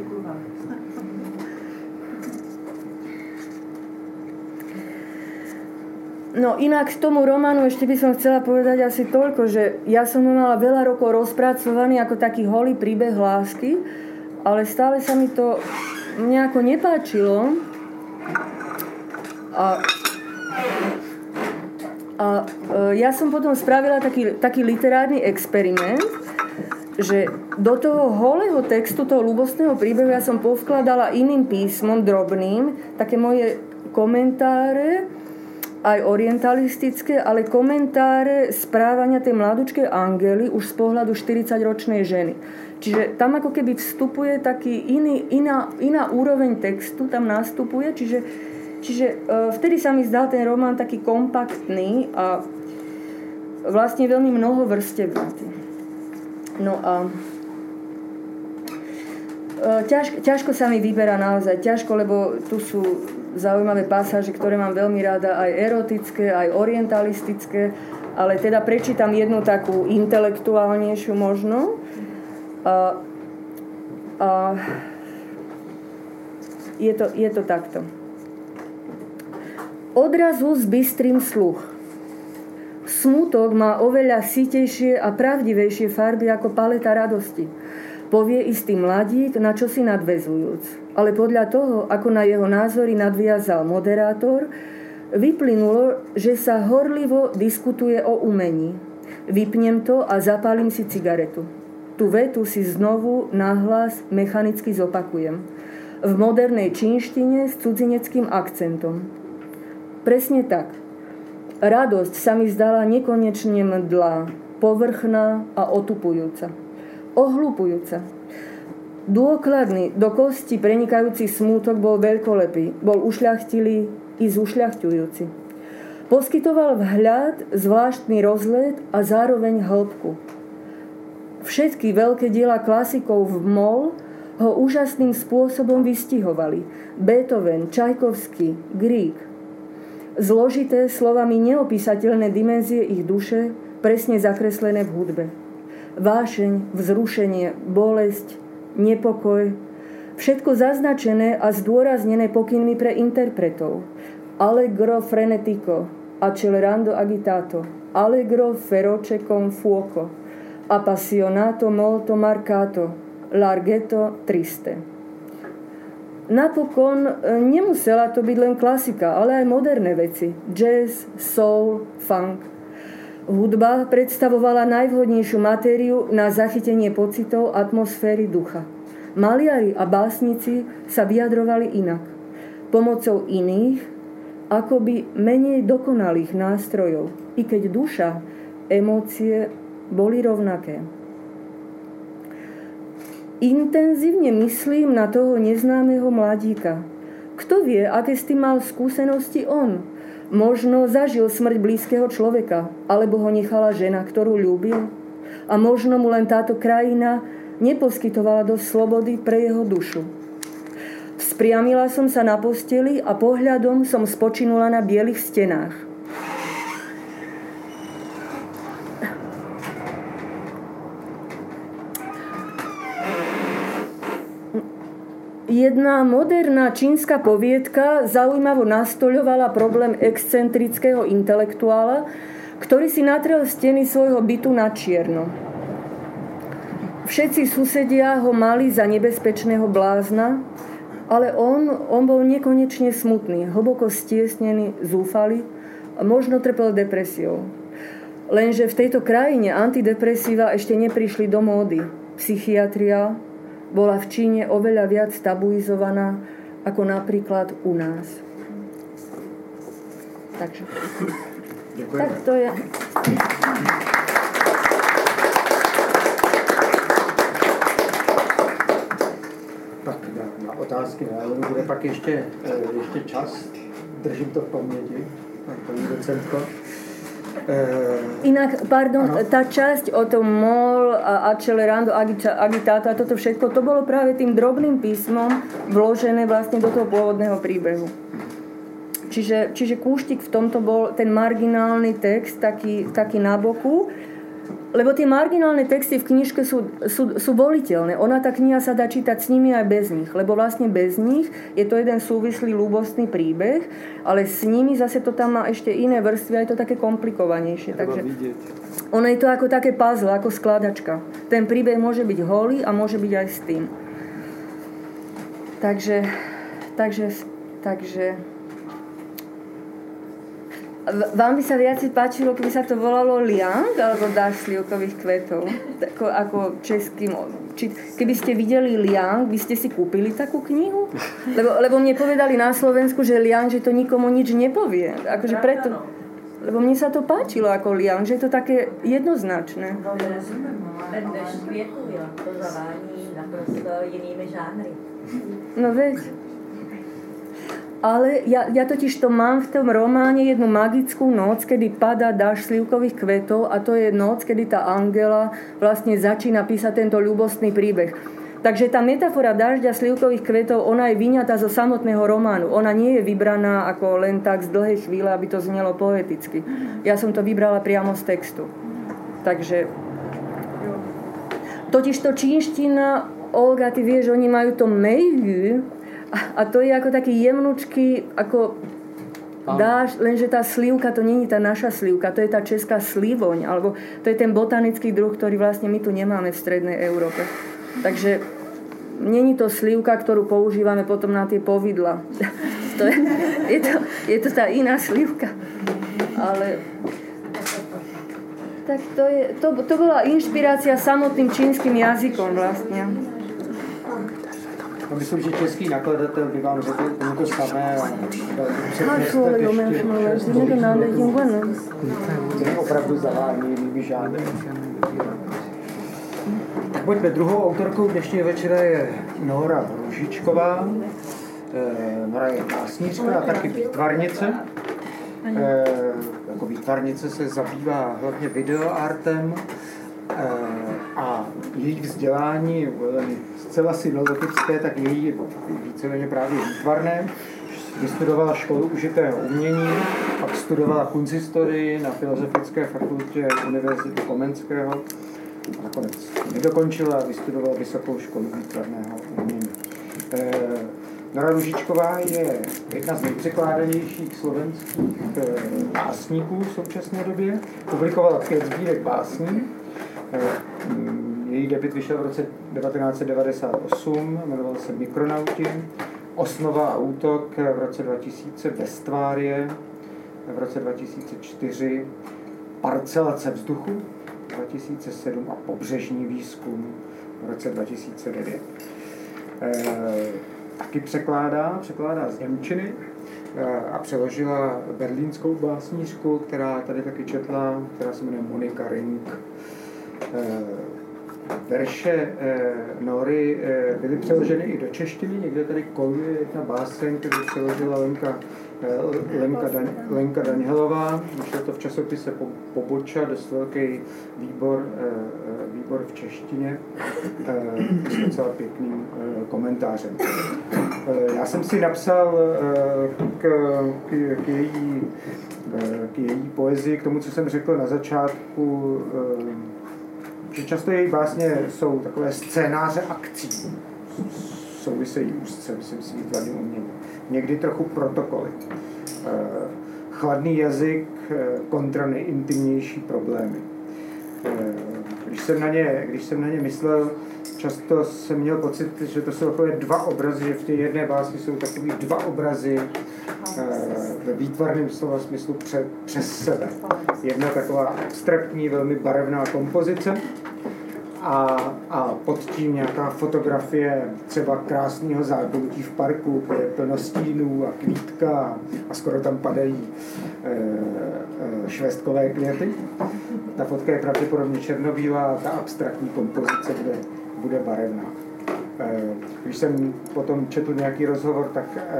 No inak k tomu románu ešte by som chcela povedať asi toľko, že ja som ho mala veľa rokov rozpracovaný ako taký holý príbeh lásky, ale stále sa mi to nejako nepáčilo. A, a ja som potom spravila taký, taký literárny experiment, že do toho holého textu, toho ľúbostného príbehu ja som povkladala iným písmom, drobným, také moje komentáre, aj orientalistické, ale komentáre správania tej mladučkej Angely už z pohľadu štyridsaťročnej ženy. Čiže tam ako keby vstupuje taký iný, iná, iná úroveň textu, tam nastupuje, čiže, čiže e, vtedy sa mi zdal ten román taký kompaktný a vlastne veľmi mnohovrstevnatý. No a ťažko, ťažko sa mi vyberá naozaj, ťažko, lebo tu sú zaujímavé pasáže, ktoré mám veľmi rada, aj erotické, aj orientalistické, ale teda prečítam jednu takú intelektuálnejšiu možno. A, a je, to, je to takto. Odrazu s bystrým sluch. Smutok má oveľa sitejšie a pravdivejšie farby ako paleta radosti. Povie istý mladík, na čo si nadväzujúc. Ale podľa toho, ako na jeho názory nadviazal moderátor, vyplynulo, že sa horlivo diskutuje o umení. Vypnem to a zapálim si cigaretu. Tú vetu si znovu nahlas mechanicky zopakujem. V modernej čínštine s cudzineckým akcentom. Presne tak. Radosť sa mi zdala nekonečne mdlá, povrchná a otupujúca. Ohľupujúca. Dôkladný, do kosti prenikajúci smútok bol veľkolepý, bol ušľachtilý i zušľachťujúci. Poskytoval vhľad, zvláštny rozhled a zároveň hĺbku. Všetky veľké diela klasikov v mol ho úžasným spôsobom vystihovali. Beethoven, Čajkovský, Grieg. Zložité, slovami neopísateľné dimenzie ich duše, presne zakreslené v hudbe. vášeň, vzrušenie, bolesť, nepokoj, všetko zaznačené a zdôraznené pokynmi pre interpretov. Allegro frenetico, accelerando agitato, allegro feroce con fuoco, appassionato molto marcato, larghetto triste. Napokon nemusela to byť len klasika, ale aj moderné veci. Jazz, soul, funk. Hudba predstavovala najvhodnejšiu matériu na zachytenie pocitov, atmosféry, ducha. Maliari a básnici sa vyjadrovali inak. Pomocou iných, akoby menej dokonalých nástrojov. I keď duša, emócie boli rovnaké. Intenzívne myslím na toho neznámeho mladíka. Kto vie, aké s tým mal skúsenosti on? Možno zažil smrť blízkeho človeka, alebo ho nechala žena, ktorú ľúbil. A možno mu len táto krajina neposkytovala dosť slobody pre jeho dušu. Vzpriamila som sa na posteli a pohľadom som spočinula na bielých stenách. Jedna moderná čínska poviedka zaujímavo nastoľovala problém excentrického intelektuála, ktorý si natrel steny svojho bytu na čierno. Všetci susedia ho mali za nebezpečného blázna, ale on, on bol nekonečne smutný, hlboko stiesnený, zúfalý a možno trpel depresiou. Lenže v tejto krajine antidepresíva ešte neprišli do módy. Psychiatria bola v Číne oveľa viac tabuizovaná ako napríklad u nás. Takže. Ďakujem. Tak to je. Tak na otázky na bude pak ještě, ještě čas. Držím to v paměti, paní docentko. Inak, pardon, ano. Tá časť o tom mol a accelerando agitato a toto všetko, to bolo práve tým drobným písmom vložené vlastne do toho pôvodného príbehu. Čiže, čiže kúštik v tomto bol ten marginálny text, taký, taký na boku, lebo tie marginálne texty v knižke sú, sú, sú voliteľné. Ona, tá kniha sa dá čítať s nimi aj bez nich, lebo vlastne bez nich je to jeden súvislý ľúbostný príbeh, ale s nimi zase to tam má ešte iné vrstvy a je to také komplikovanejšie. Takže ono je to ako také puzzle, ako skladačka. Ten príbeh môže byť holý a môže byť aj s tým. Takže, takže, takže vám by sa viac páčilo, keby sa to volalo Liang alebo dáš slivkových kvetov? Tako, ako českým. Či, keby ste videli Liang, by ste si kúpili takú knihu? Lebo, lebo mne povedali na Slovensku, že Liang, že to nikomu nič nepovie. Akože preto, lebo mne sa to páčilo ako Liang, že je to také jednoznačné. Ten dešť květů, jo, to zavání naprosto jinými žánry. No veď. Ale ja, ja totiž to mám v tom románe jednu magickú noc, kedy padá dážď slivkových kvetov a to je noc, kedy tá Angela vlastne začína písať tento ľúbostný príbeh. Takže tá metafora dažďa slivkových kvetov, ona je vyňatá zo samotného románu. Ona nie je vybraná ako len tak z dlhej chvíle, aby to znelo poeticky. Ja som to vybrala priamo z textu. Takže totiž to čínština, Olga, ty vieš, oni majú to meiyu, a to je ako taký jemnučký, ako dáš, lenže tá slivka, to nie je tá naša slivka, to je tá česká slivoň, alebo to je ten botanický druh, ktorý vlastne my tu nemáme v strednej Európe. Takže nie je to slivka, ktorú používame potom na tie povidla. To je, je, to, je to tá iná slivka. Ale tak to, je, to, to bola inšpirácia samotným čínskym jazykom vlastne. No, myslím, že český nakladatel by vám řekl to samé. To je opravdu zavání žádný. Tak pojďme, druhou autorkou dnešního večera je Nora Růžičková. Nora je básnířka a taky výtvarnice. Jako výtvarnice se zabývá hlavně videoartem a její vzdělání zcela sinologické, tak její víceméně právě výtvarné. Vystudovala školu užitého umění, pak studovala kunsthistorii na Filozofické fakultě Univerzity Komenského nakonec nedokončil a vystudoval Vysokou školu výtvarného umění. Nora Růžičková je jedna z nejpřekládanějších slovenských básníků v současné době. Publikovala pět sbírek básní. Její debut vyšel v roce devatenáct set devadesát osm, jmenoval se Mikronauti. Osnova a útok v roce dva tisíce, Bestvárie v roce dva tisíce čtyři, Parcelace vzduchu dva tisíce sedm a Pobřežní výzkum v roce dva tisíce devět. E, taky překládá, překládá z němčiny e, a přeložila berlínskou básnířku, která tady taky četla, která se jmenuje Monika Ring. E, Verše e, Nory e, byly přeloženy i do češtiny, někde tady koluje jedna báseň, kterou přeložila Lenka, e, Lenka, Dan, Lenka Danielová. Vyšlo to v časopise po, Poboča, dost velký výbor, e, výbor v češtině e, s docela pěkným e, komentářem. E, já jsem si napsal e, k, k, k, její, e, k její poezii, k tomu, co jsem řekl na začátku, e, že často její básně jsou takové scénáře akcí, souvisejí úzce, myslím si, výtvarným uměním. Někdy trochu protokoly. Chladný jazyk kontra nejintimnější problémy. Když jsem na ně, když jsem na ně myslel, často jsem měl pocit, že to jsou takové dva obrazy, že v té jedné básni jsou takový dva obrazy ve výtvarném slova smyslu pře, přes sebe. Jedna taková abstraktní, velmi barevná kompozice a, a pod tím nějaká fotografie třeba krásného zákoutí v parku, kde je plno stínů a kvítka a skoro tam padají e, e, švestkové květy. Ta fotka je pravděpodobně černobílá a ta abstraktní kompozice bude, bude barevná. E, když jsem potom četl nějaký rozhovor, tak e,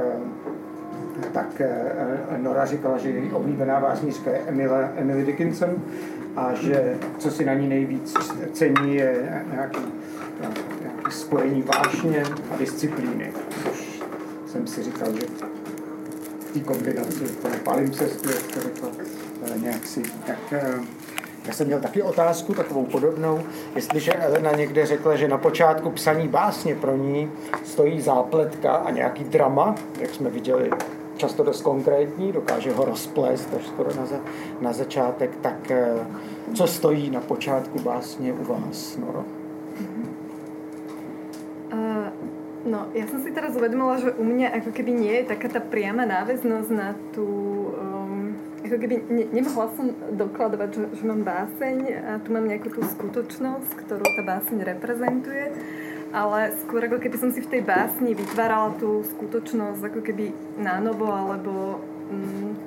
tak Nora říkala, že její oblíbená básnířka je Emily, Emily Dickinson a že co si na ní nejvíc cení je nějaký, nějaký spojení vášně a disciplíny. Což jsem si říkal, že v té kombinaci, v tom palimpsestu, jak to řekla, nějak si, tak já jsem měl taky otázku, takovou podobnou, jestliže Elena někde řekla, že na počátku psaní básně pro ní stojí zápletka a nějaký drama, jak jsme viděli, často dost konkrétní, dokáže ho rozplést až skoro na, za, na začátek, tak co stojí na počátku básně u vás, Noro? Uh, no, ja som si teraz uvedomila, že u mňa ako keby nie je taká tá priama náväznosť na tú... Um, ako keby ne, nemohla som dokladovať, že, že mám báseň a tu mám nejakú tú skutočnosť, ktorú tá báseň reprezentuje, ale skôr ako keby som si v tej básni vytvárala tú skutočnosť ako keby nánovo, alebo um,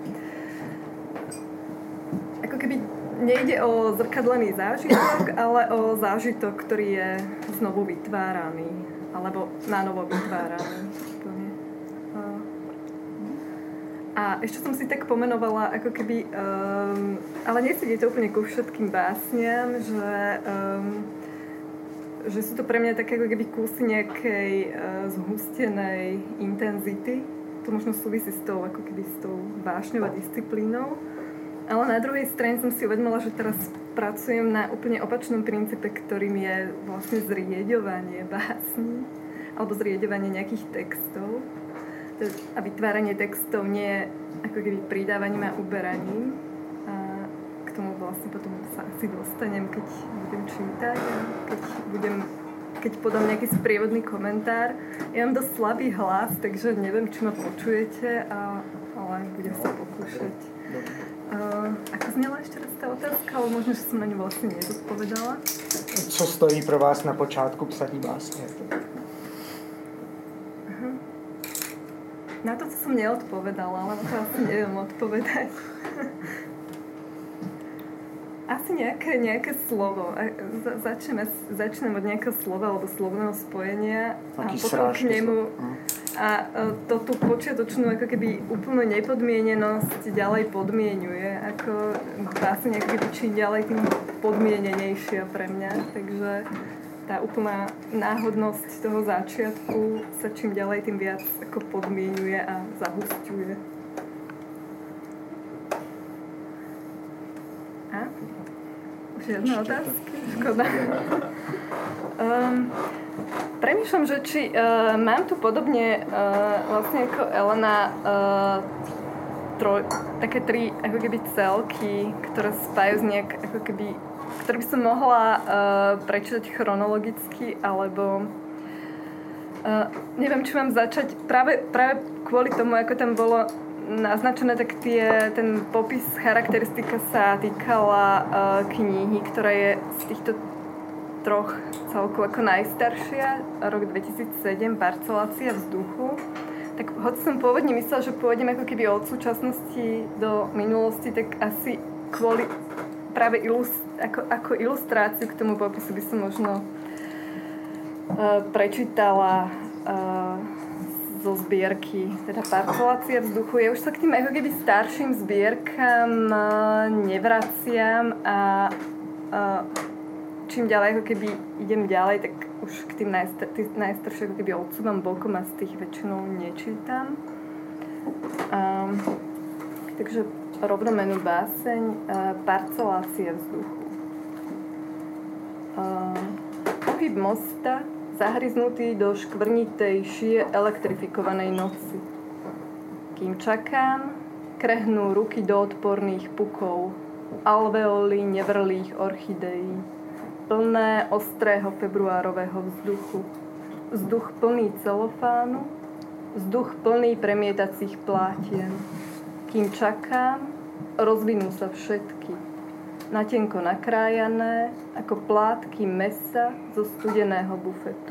ako keby nejde o zrkadlený zážitok, ale o zážitok, ktorý je znovu vytváraný, alebo nánovo vytváraný. A ešte som si tak pomenovala, ako keby, um, ale nesedí to úplne ku všetkým básniam, že, um, že sú to pre mňa také ako keby kusy nejakej uh, zhustenej intenzity. To možno súvisí s tou, ako keby s tou vášňou a disciplínou. Ale na druhej strane som si uvedomila, že teraz pracujem na úplne opačnom princípe, ktorým je vlastne zrieďovanie básní alebo zrieďovanie nejakých textov. A vytváranie textov nie je ako keby pridávaním a uberaním. A k tomu vlastne potom sa asi dostanem, keď budem čítať a keď budem, keď podám nejaký sprievodný komentár. Ja mám dosť slabý hlas, takže neviem, či ma počujete, a, ale budem sa pokúšať. Uh, ako znela ešte raz tá otázka, ale možno, že som na ňu vlastne nezodpovedala. Co stojí pro vás na počátku psaní básně? Uh-huh. Na to, co som neodpovedala, ale na to asi neviem odpovedať. Asi nejaké, nejaké slovo. Za, začneme, začnem od nejakého slova alebo slovného spojenia a potom k nemu a to tú počiatočnú ako keby úplnú nepodmienenosť ďalej podmienuje. Ako báseň ako keby čím ďalej tým podmienenejšia pre mňa. Takže tá úplná náhodnosť toho začiatku sa čím ďalej tým viac ako podmienuje a zahusťuje. A? Už Žiadne otázky? Škoda. um, premýšľam, že či uh, mám tu podobne uh, vlastne ako Elena uh, troj, také tri ako keby celky, ktoré spájajú nejak ako keby, ktoré by som mohla uh, prečítať chronologicky, alebo uh, neviem, či mám začať práve, práve kvôli tomu, ako tam bolo naznačené, tak tie, ten popis, charakteristika sa týkala uh, knihy, ktorá je z týchto troch celku ako najstaršia, rok dvetisícsedem, Parcelácia vzduchu. Tak hoci som pôvodne myslela, že pôjdem ako keby od súčasnosti do minulosti, tak asi kvôli práve ilust- ako, ako ilustráciu k tomu popisu by som možno uh, prečítala uh, zo zbierky, teda Parcelácia vzduchu. Ja už sa k tým ako keby starším zbierkam uh, nevraciam a uh, čím ďalej ako keby idem ďalej, tak už k tým najstar- najstarším ako keby odsúvam bokom a z tých väčšinou nečítam. Um, takže rovnomenú báseň uh, Parcelácia vzduchu. Uh, pohyb mosta zahryznutý do škvrnitej šie elektrifikovanej noci. Kým čakám, krehnú ruky do odporných pukov, alveoly nevrlých orchideí, plné ostrého februárového vzduchu. Vzduch plný celofánu, vzduch plný premietacích plátien. Kým čakám, rozvinú sa všetky. Natenko nakrájané, ako plátky mesa zo studeného bufetu.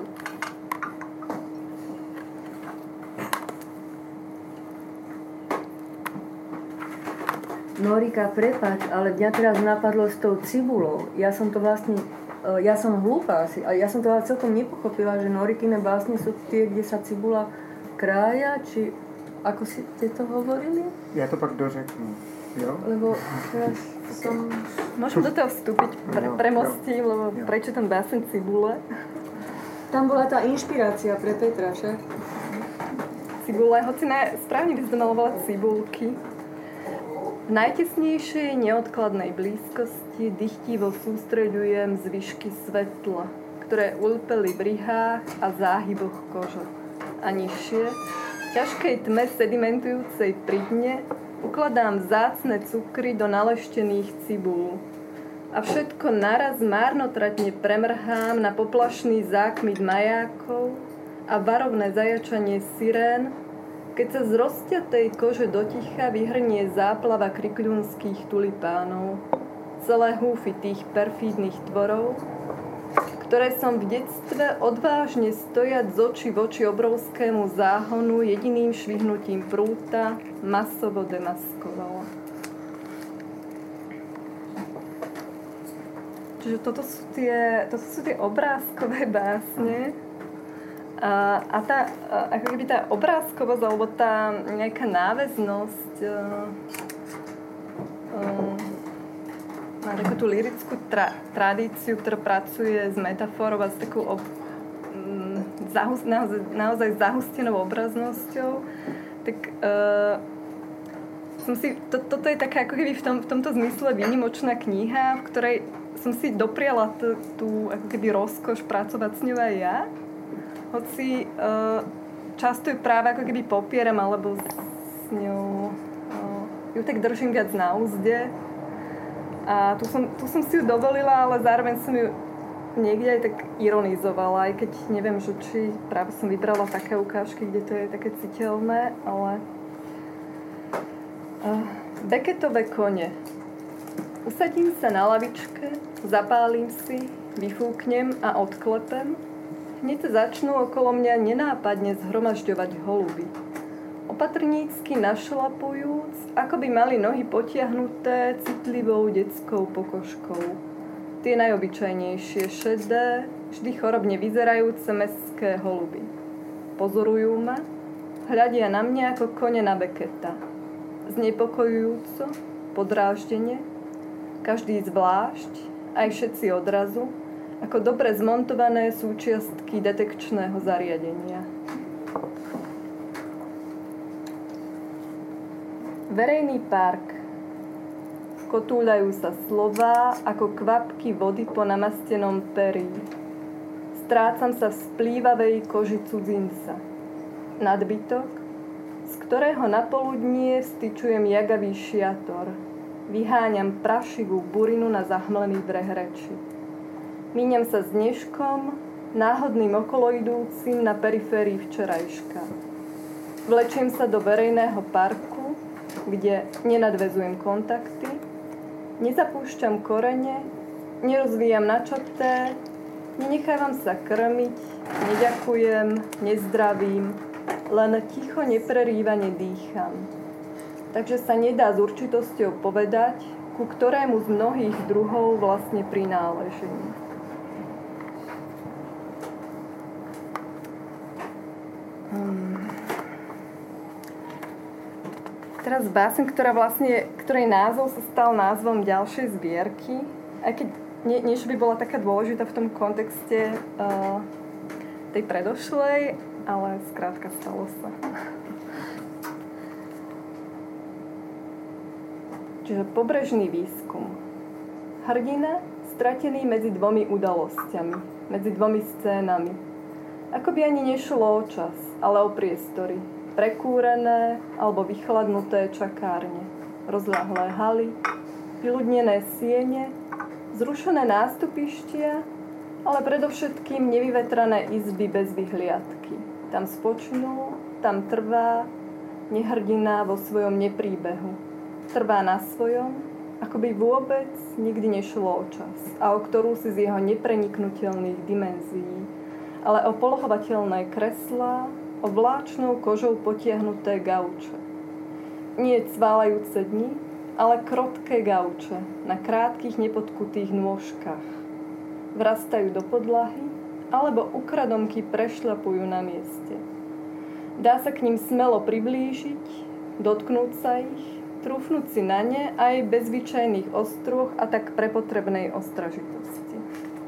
Norika, prepáč, ale mňa teraz napadlo s tou cibulou. Ja som to vlastne, ja som hlúpa asi, a ja som to celkom nepochopila, že Norikine básne sú tie, kde sa cibula krája, či ako si ste to hovorili? Ja to pak dořeknu, jo? Lebo teraz som... Môžem do toho vstúpiť, pre, premostím, lebo jo. Prečo ten básen cibule? Tam bola tá inšpirácia pre Petra, však? Cibule, hoci ne, správne by sme malo volať cibulky. V najtesnejšej neodkladnej blízkosti dychtivo sústreďujem zvyšky svetla, ktoré ulpeli v rihách a záhyboch kože. A nižšie, v ťažkej tme sedimentujúcej pri dne, ukladám vzácne cukry do naleštených cibúl. A všetko naraz márnotratne premrhám na poplašný zákmit majákov a varovné zajačanie sirén, keď sa z rozťatej kože doticha vyhrnie záplava krikľunských tulipánov, celé húfy tých perfídnych tvorov, ktoré som v detstve odvážne stojať z očí v oči obrovskému záhonu jediným švihnutím prúta masovo demaskovala. Čiže toto sú tie, toto sú tie obrázkové básne. A, a tá, ako keby tá obrázkovosť, alebo tá nejaká náväznosť uh, uh, má takú tú lirickú tra, tradíciu, ktorá pracuje s metaforou a s takou ob, um, zahus, naozaj, naozaj zahustenou obraznosťou, tak uh, som si, to, toto je taká ako keby v, tom, v tomto zmysle výnimočná kniha, v ktorej som si dopriala t, tú ako keby rozkoš pracovať s ňou aj ja. Hoci uh, často ju práve ako keby popieram, alebo s ňou uh, ju tak držím viac na úzde. A tu som, tu som si ju dovolila, ale zároveň som ju niekde aj tak ironizovala, aj keď neviem, že či práve som vybrala také ukážky, kde to je také citeľné, ale... Uh, Becketové kone. Usadím sa na lavičke, zapálim si, vyfúknem a odklepem. Hneď sa začnú okolo mňa nenápadne zhromažďovať holuby. Opatrnícky našlapujúc, ako by mali nohy potiahnuté citlivou detskou pokožkou. Tie najobyčajnejšie, šedé, vždy chorobne vyzerajúce mestské holuby. Pozorujú ma, hľadia na mňa ako kone na Becketa. Znepokojujúco, podráždene, každý zvlášť, aj všetci odrazu, ako dobre zmontované súčiastky detekčného zariadenia. Verejný park. kotúľajú sa slová ako kvapky vody po namastenom perí. Strácam sa v splývavej koži cudzinca. Nadbytok, z ktorého na poludnie vstyčujem jagavý šiator. Vyháňam prašivú burinu na zahmlený breh reči. Míňam sa s dneškom, náhodným okoloidúcim na periférii včerajška. Vlečiem sa do verejného parku, kde nenadväzujem kontakty, nezapúšťam korene, nerozvíjam načaté, nenechávam sa krmiť, neďakujem, nezdravím, len ticho neprerývane dýcham. Takže sa nedá s určitosťou povedať, ku ktorému z mnohých druhov vlastne prináležím. Hmm. Teraz báseň, ktorá vlastne, ktorej názov sa stal názvom ďalšej zbierky, aj keď nie, nie že by bola taká dôležitá v tom kontexte uh, tej predošlej, ale skrátka stalo sa. Čiže pobrežný výskum. Hrdina stratený medzi dvomi udalosťami, medzi dvomi scénami. Ako by ani nešlo o čas, ale o priestory. Prekúrené alebo vychladnuté čakárne, rozľahlé haly, vyľudnené siene, zrušené nástupištia, ale predovšetkým nevyvetrané izby bez vyhliadky. Tam spočnul, tam trvá, nehrdina vo svojom nepríbehu. Trvá na svojom, ako by vôbec nikdy nešlo o čas a o ktorú si z jeho nepreniknutelných dimenzií, ale o polohovateľné kreslá, o vláčnou kožou potiahnuté gauče. Nie cválajúce dni, ale krotké gauče na krátkych nepotkutých nôžkach. Vrastajú do podlahy, alebo ukradomky prešľapujú na mieste. Dá sa k ním smelo priblížiť, dotknúť sa ich, trúfnúť si na ne aj bez zvyčajných ostrôch a tak prepotrebnej ostražitosti.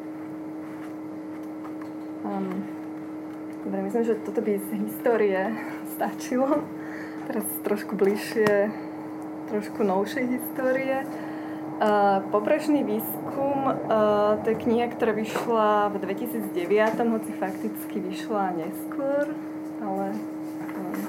Um. Dobre, myslím, že toto by z histórie stačilo. Teraz trošku bližšie, trošku novšej histórie. Uh, Pobrežný výskum, uh, to je kniha, ktorá vyšla v dvetisícdeväť, hoci fakticky vyšla neskôr, ale um,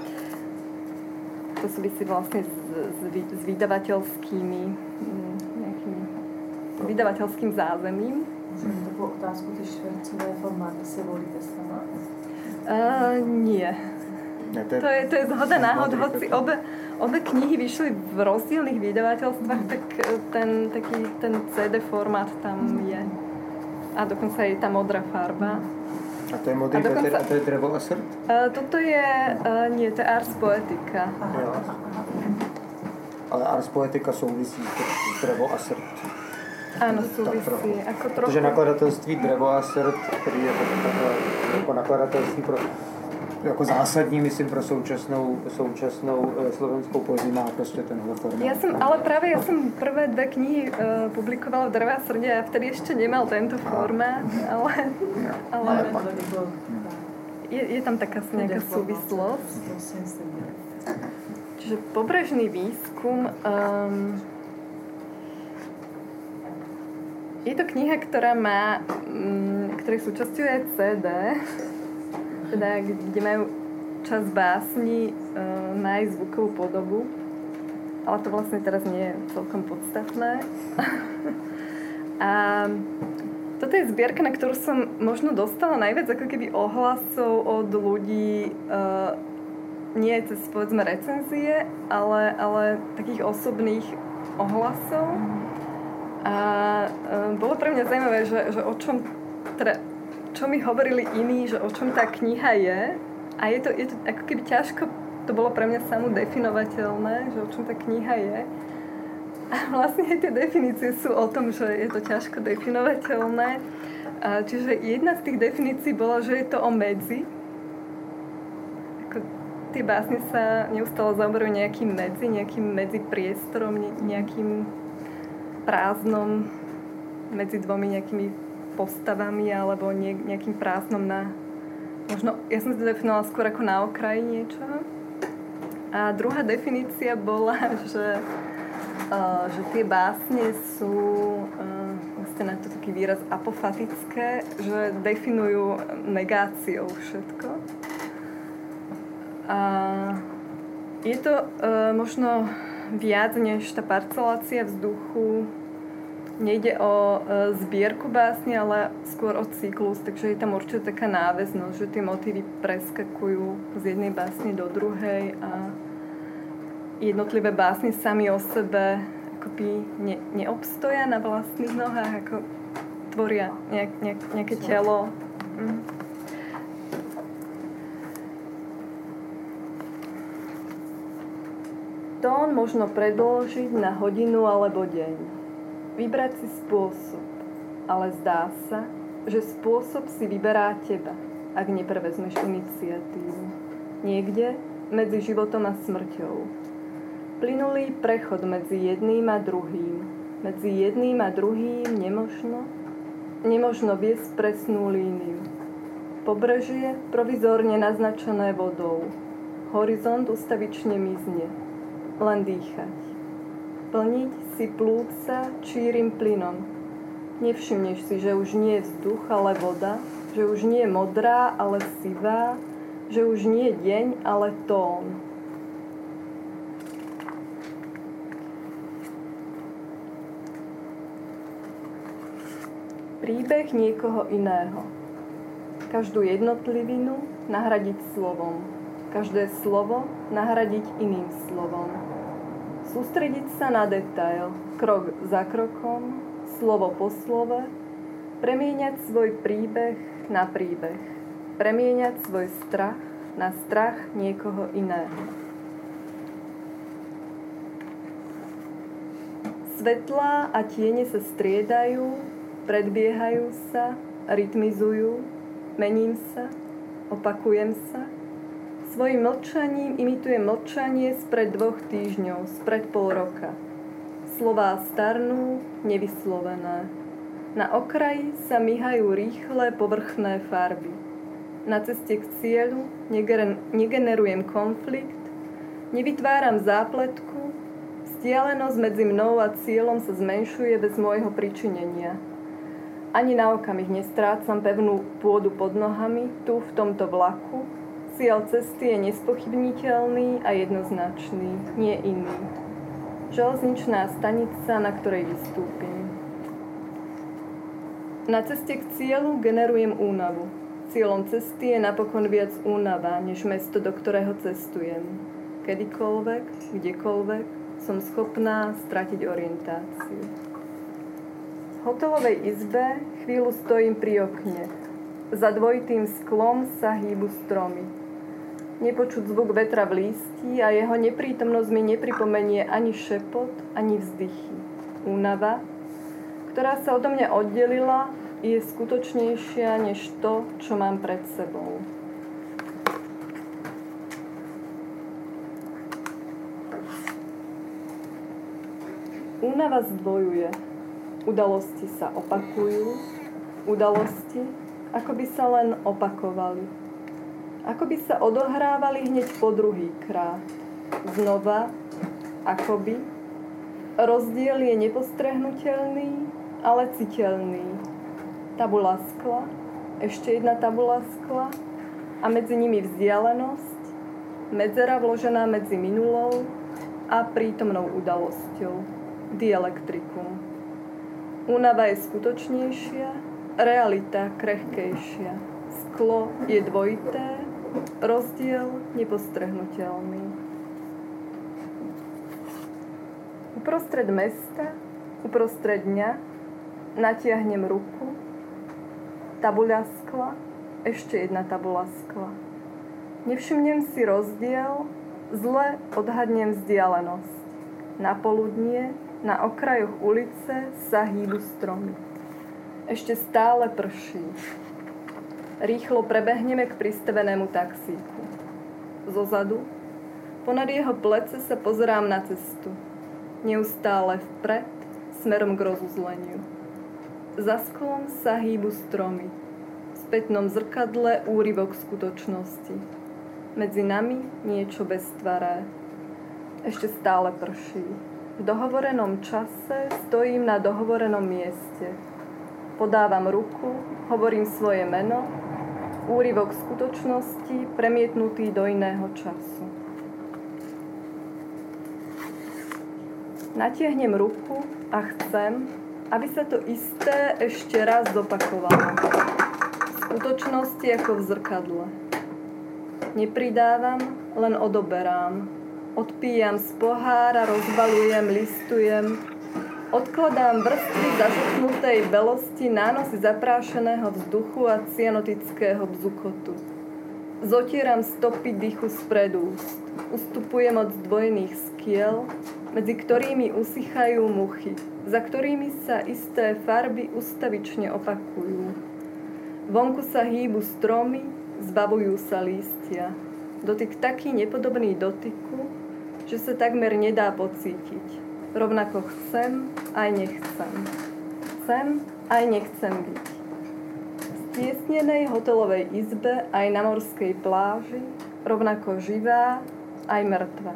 to súvisí vlastne s, s, s vydavateľskými um, nejakým vydavateľským zázemím. Můžeme takovou otázku, ty švercové formáty si volíte sama? Uh, nie. Ne, to, je, to, je, to je zhoda náhod, hoci obe, obe knihy vyšli v rozdielnych vydavateľstvách, tak ten, taký, ten cé dé formát tam je. A dokonca je tá modrá farba. A to je modrý dokonca, Peter a to je Drevo a srd? Uh, toto je, uh, nie, to je Ars Poetica. Jo. Ale Ars Poetica souvisí s Drevo a srd. Áno, súvisí. Ako trochu... Protože nakladatelství Drevo a srd, který je takové jako nakladatelství pro, jako zásadní, myslím, pro současnou, současnou e, slovenskou poezii má prostě tenhle formát. Ja som, ale práve ja som prvé dve knihy uh, publikovala v Dreve a srde a vtedy ešte nemal tento formát, ale, ale je, je tam taká nejaká súvislosť. Čiže pobrežný výskum... Um, Je to kniha, ktorá má, ktorej súčasťou je cé dé, teda kde majú časť básni, má aj zvukovú podobu, ale to vlastne teraz nie je celkom podstatné. A toto je zbierka, na ktorú som možno dostala najviac ako keby ohlasov od ľudí, nie cez povedzme recenzie, ale, ale takých osobných ohlasov. A e, bolo pre mňa zaujímavé, že, že o čom, teda, čo mi hovorili iní, že o čom tá kniha je. A je to, je to ako keby ťažko, to bolo pre mňa samo definovateľné, že o čom tá kniha je. A vlastne aj tie definície sú o tom, že je to ťažko definovateľné. A čiže jedna z tých definícií bola, že je to o medzi. Ako tie básne sa neustále zaoberajú nejakým medzi, nejakým medzipriestorom, nejakým prázdnom medzi dvomi nejakými postavami alebo nejakým prázdnom na... Možno, ja som si to definovala skôr ako na okraji niečoho. A druhá definícia bola, že Uh, že tie básne sú, uh, vlastne na to taký výraz apofatické, že definujú negáciou všetko. A je to uh, možno viac než tá parcelácia vzduchu. Nejde o uh, zbierku básne, ale skôr o cyklus, takže je tam určite taká náväznosť, že tie motívy preskakujú z jednej básne do druhej a jednotlivé básne sami o sebe akoby ne, neobstoja na vlastných nohách, ako tvoria nejak, nejak, nejaké telo. Mm. Tón možno predĺžiť na hodinu alebo deň. Vybrať si spôsob, ale zdá sa, že spôsob si vyberá teba, ak neprevezmeš iniciatívu. Niekde medzi životom a smrťou. Plynulý prechod medzi jedným a druhým. Medzi jedným a druhým nemožno, nemožno viesť presnú líniu. Pobrežie provizórne naznačené vodou. Horizont ustavične mizne. Len dýchať. Plniť si plúca čírim plynom. Nevšimneš si, že už nie je vzduch, ale voda, že už nie je modrá, ale sivá, že už nie je deň, ale tón. Príbeh niekoho iného. Každú jednotlivinu nahradiť slovom. Každé slovo nahradiť iným slovom. Sústrediť sa na detail, krok za krokom, slovo po slove, premieňať svoj príbeh na príbeh. Premieňať svoj strach na strach niekoho iného. Svetlá a tiene sa striedajú, predbiehajú sa, rytmizujú, mením sa, opakujem sa. Svojim mlčaním imitujem mlčanie spred dvoch týždňov, spred pol roka. Slová starnú, nevyslovené. Na okraji sa myhajú rýchle, povrchné farby. Na ceste k cieľu negenerujem konflikt, nevytváram zápletku, vzdialenosť medzi mnou a cieľom sa zmenšuje bez môjho pričinenia. Ani na okamih nestrácam pevnú pôdu pod nohami, tu v tomto vlaku. Cieľ cesty je nespochybniteľný a jednoznačný, nie iný. Železničná stanica, na ktorej vystúpim. Na ceste k cieľu generujem únavu. Cieľom cesty je napokon viac únava, než mesto, do ktorého cestujem. Kedykoľvek, kdekoľvek som schopná stratiť orientáciu. V hotelovej izbe chvíľu stojím pri okne. Za dvojitým sklom sa hýbu stromy. Nepočuť zvuk vetra v lístí a jeho neprítomnosť mi nepripomenie ani šepot, ani vzdychy. Únava, ktorá sa odo mňa oddelila, je skutočnejšia než to, čo mám pred sebou. Únava zdvojuje. Udalosti sa opakujú, udalosti, ako by sa len opakovali. Ako by sa odohrávali hneď po druhý krát. Znova, akoby. Rozdiel je nepostrehnutelný, ale citeľný. Tabula skla, ešte jedna tabula skla a medzi nimi vzdialenosť, medzera vložená medzi minulou a prítomnou udalosťou. Dielektrikum. Únava je skutočnejšia, realita krehkejšia. Sklo je dvojité, rozdiel nepostrehnutelný. Uprostred mesta, uprostred dňa, natiahnem ruku, tabuľa skla, ešte jedna tabuľa skla. Nevšimnem si rozdiel, zle odhadnem vzdialenosť. Na poludnie, na okrajoch ulice sa hýbu stromy. Ešte stále prší. Rýchlo prebehneme k pristavenému taxíku. Zozadu, ponad jeho plece sa pozerám na cestu. Neustále vpred, smerom k rozuzleniu. Za sklom sa hýbu stromy. V spätnom zrkadle úryvok skutočnosti. Medzi nami niečo beztvaré. Ešte stále prší. V dohovorenom čase stojím na dohovorenom mieste. Podávam ruku, hovorím svoje meno, úryvok skutočnosti premietnutý do iného času. Natiahnem ruku a chcem, aby sa to isté ešte raz zopakovalo. V skutočnosti ako v zrkadle. Nepridávam, len odoberám. Odpíjam z pohára, rozbalujem, listujem. Odkladám vrstvy zašupnutej belosti, nánosy zaprášeného vzduchu a cyanotického bzukotu. Zotieram stopy dychu spred úst. Ustupujem od zdvojených skiel, medzi ktorými usychajú muchy, za ktorými sa isté farby ustavične opakujú. Vonku sa hýbu stromy, zbavujú sa lístia. Dotyk taký nepodobný dotyku, že sa takmer nedá pocítiť. Rovnako chcem, aj nechcem. Chcem, aj nechcem byť. V stiesnenej hotelovej izbe, aj na morskej pláži, rovnako živá, aj mŕtva.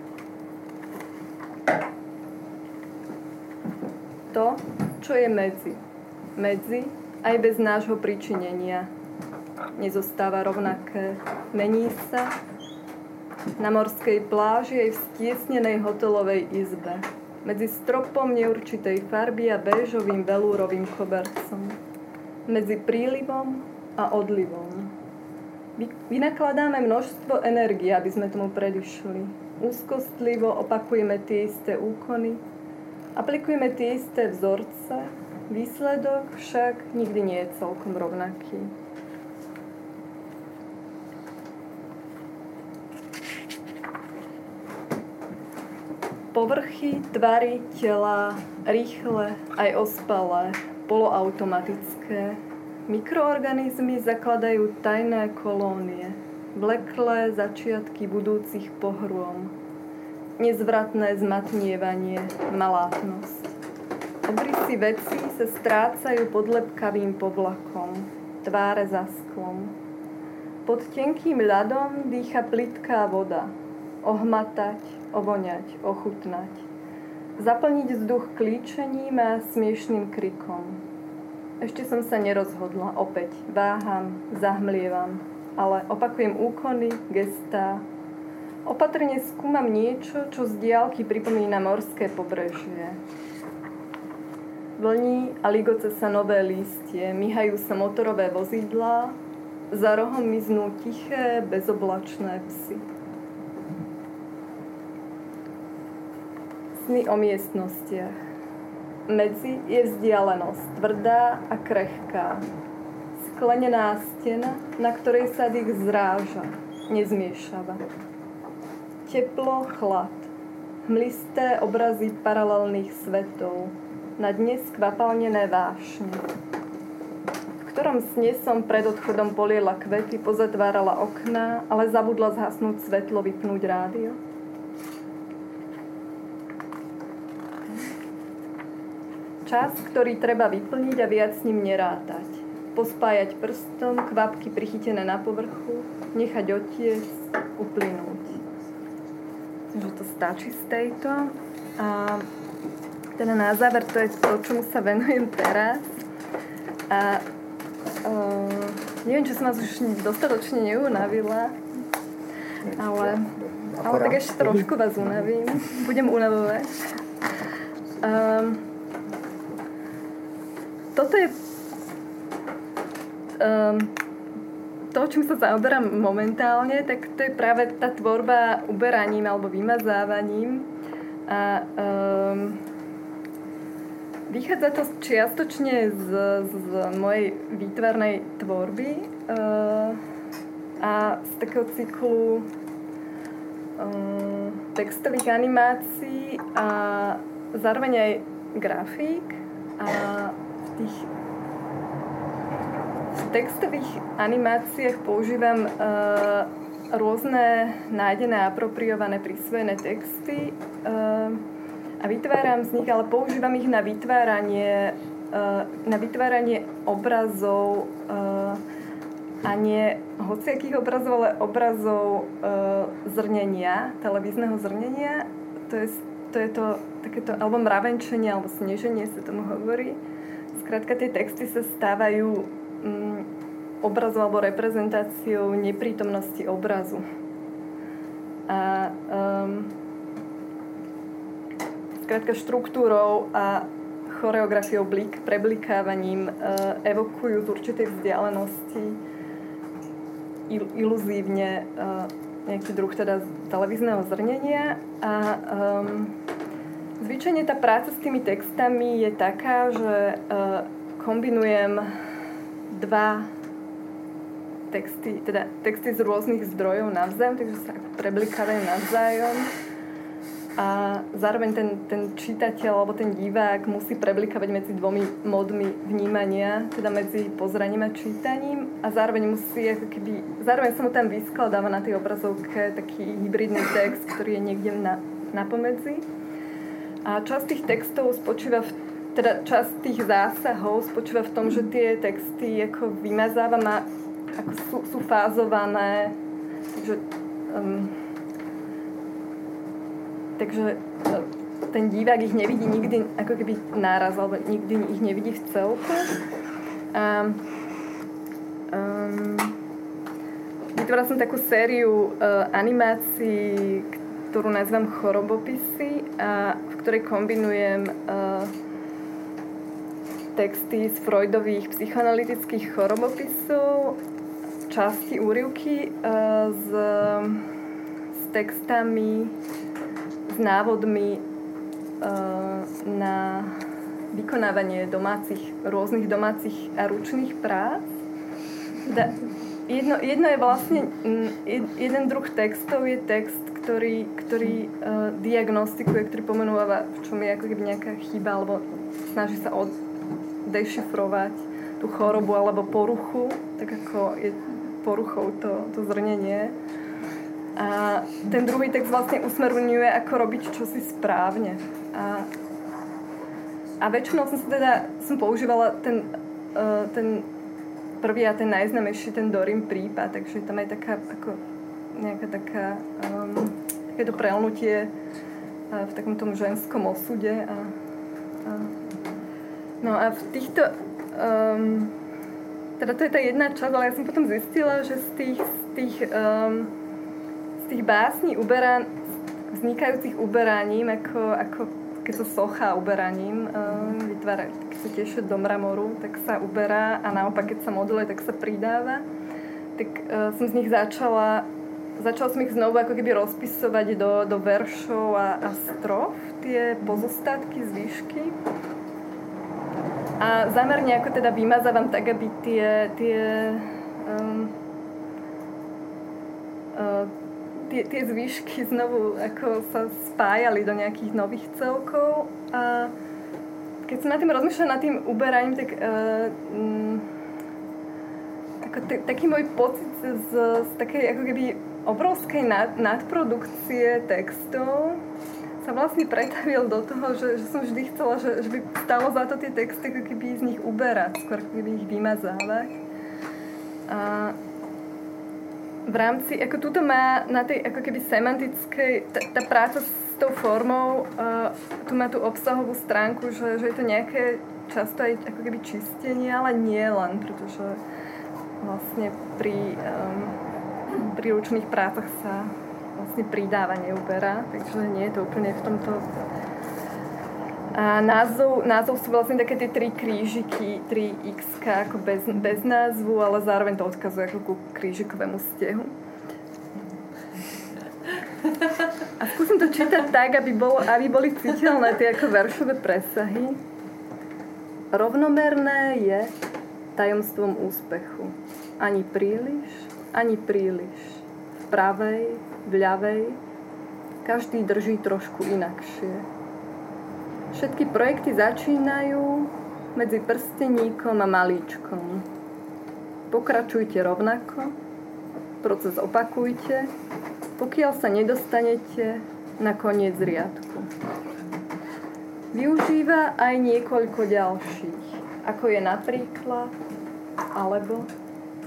To, čo je medzi. Medzi, aj bez nášho pričinenia. Nezostáva rovnaké. Mení sa na morskej pláži aj v stiesnenej hotelovej izbe. Medzi stropom neurčitej farby a béžovým velúrovým kobercom. Medzi prílivom a odlivom. Vynakladáme množstvo energie, aby sme tomu predišli. Úzkostlivo opakujeme tie isté úkony, aplikujeme tie isté vzorce, výsledok však nikdy nie je celkom rovnaký. Povrchy, tvary, tela, rýchle, aj ospalé, poloautomatické. Mikroorganizmy zakladajú tajné kolónie, vleklé začiatky budúcich pohrôm. Nezvratné zmatnievanie, malátnosť. Obrysy vecí sa strácajú pod lepkavým povlakom, tváre za sklom. Pod tenkým ľadom dýcha plitká voda. Ohmatať, ovoňať, ochutnať. Zaplniť vzduch klíčením a smiešným krikom. Ešte som sa nerozhodla, opäť váham, zahmlievam, ale opakujem úkony, gestá. Opatrne skúmam niečo, čo z diaľky pripomína morské pobrežie. Vlní a ligoce sa nové lístie, myhajú sa motorové vozidlá, za rohom miznú tiché, bezoblačné psy. Sny o miestnostiach. Medzi je vzdialenosť, tvrdá a krehká. Sklenená stena, na ktorej sa dých zráža, nezmiešava. Teplo, chlad. Hmlisté obrazy paralelných svetov. Na dne skvapalnené vášne. V ktorom sne som pred odchodom poliela kvety, pozatvárala okná, ale zabudla zhasnúť svetlo, vypnúť rádio. Čas, ktorý treba vyplniť a viac s ním nerátať. Pospájať prstom, kvapky prichytené na povrchu, nechať otiecť, uplynúť. Že to stačí z tejto. A teda na záver to je to, čomu sa venujem teraz. A uh, neviem, či som vás už dostatočne neunavila, ale, ale tak ešte trošku vás unavím. Budem unavovať. Um, Toto je um, to, čím sa zaoberám momentálne, tak to je práve tá tvorba uberaním alebo vymazávaním. A um, vychádza to čiastočne z, z mojej výtvarnej tvorby uh, a z takého cyklu uh, textových animácií a zároveň aj grafík. A tých v textových animáciách používam uh, rôzne nájdené, apropriované, prisvojené texty uh, a vytváram z nich, ale používam ich na vytváranie uh, na vytváranie obrazov uh, a nie hociakých obrazov, ale obrazov uh, zrnenia, televízneho zrnenia. To je to je to takéto, alebo mravenčenie, alebo sneženie sa tomu hovorí. Skrátka, tie texty sa stávajú mm, obrazom alebo reprezentáciou neprítomnosti obrazu. A um, skrátka štruktúrou a choreografiou blik, preblikávaním uh, evokujú z určitej vzdialenosti il- iluzívne uh, nejaký druh teda televízneho zrnenia a um, zvyčajne tá práca s tými textami je taká, že uh, kombinujem dva texty, teda texty z rôznych zdrojov navzájom, takže sa preblikávajú navzájom a zároveň ten, ten čitateľ alebo ten divák musí preblikávať medzi dvomi módmi vnímania, teda medzi pozraním a čítaním a zároveň musí ako keby, zároveň sa mu tam vyskladáva na tej obrazovke taký hybridný text, ktorý je niekde na, na pomedzi. A časť tých textov spočíva v, teda časť tých zásahov spočíva v tom, že tie texty ako vymazávam a ako sú, sú fázované, takže um, takže ten divák ich nevidí nikdy ako keby náraz, alebo nikdy ich nevidí v celku. A um, vytvorila som takú sériu uh, animácií, ktorú nazývam Chorobopisy, a v ktorej kombinujem uh, texty z Freudových psychoanalytických chorobopisov, časti úryvky uh, s, s textami, s návodmi uh, na vykonávanie domácich, rôznych domácich a ručných prác. Da, jedno, jedno je vlastne, jed, jeden druh textov je text, ktorý, ktorý uh, diagnostikuje, ktorý pomenúva, v čom je ako keby nejaká chyba, alebo snaží sa od, dešifrovať tú chorobu alebo poruchu, tak ako je poruchou to, to zrnenie. A ten druhý text vlastne usmerňuje, ako robiť čosi správne. A, a väčšinou som sa teda som používala ten, uh, ten prvý a ten najznámejší, ten Dorin prípad, takže tam je taká ako nejaká taká um, takéto prelnutie uh, v takom tom ženskom osude. A, a, no a v týchto um, teda to je tá jedna časť, ale ja som potom zistila, že z tých, z tých um, tých básní uberá, vznikajúcich uberaním, ako, ako keď sa socha uberaním um, vytvára, keď sa tieši do mramoru, tak sa uberá a naopak, keď sa modeluje, tak sa pridáva. Tak uh, som z nich začala, začala som ich znovu ako keby rozpisovať do, do veršov a, a strof, tie pozostatky, zvyšky. A zámerne ako teda vymazávam tak, aby tie, tie um, uh, Tie, tie zvyšky znovu ako sa spájali do nejakých nových celkov a keď som nad tým rozmýšľala nad tým uberaním, tak uh, um, ako t- taký môj pocit z, z takej ako keby obrovskej nad, nadprodukcie textov sa vlastne pretavil do toho, že, že som vždy chcela, že, že by stalo za to tie texty ako keby z nich uberať, skôr ako keby ich vymazávať. A v rámci, ako túto má na tej ako keby semantickej, tá, tá práca s tou formou, uh, tu má tú obsahovú stránku, že, že je to nejaké často aj ako keby čistenie, ale nie len, pretože vlastne pri, um, pri ručných prácach sa vlastne pridáva, neuberá, takže nie je to úplne v tomto. A názov, názov sú vlastne také tie tri krížiky, tri X-ka ako bez, bez názvu, ale zároveň to odkazuje ako ku krížikovému stehu. A skúsim to čítať tak, aby, bol, aby boli citeľné tie ako veršové presahy. Rovnomerné je tajomstvom úspechu. Ani príliš, ani príliš. V pravej, v ľavej, každý drží trošku inakšie. Všetky projekty začínajú medzi prsteníkom a malíčkom. Pokračujte rovnako, proces opakujte, pokiaľ sa nedostanete na koniec riadku. Využíva aj niekoľko ďalších, ako je napríklad, alebo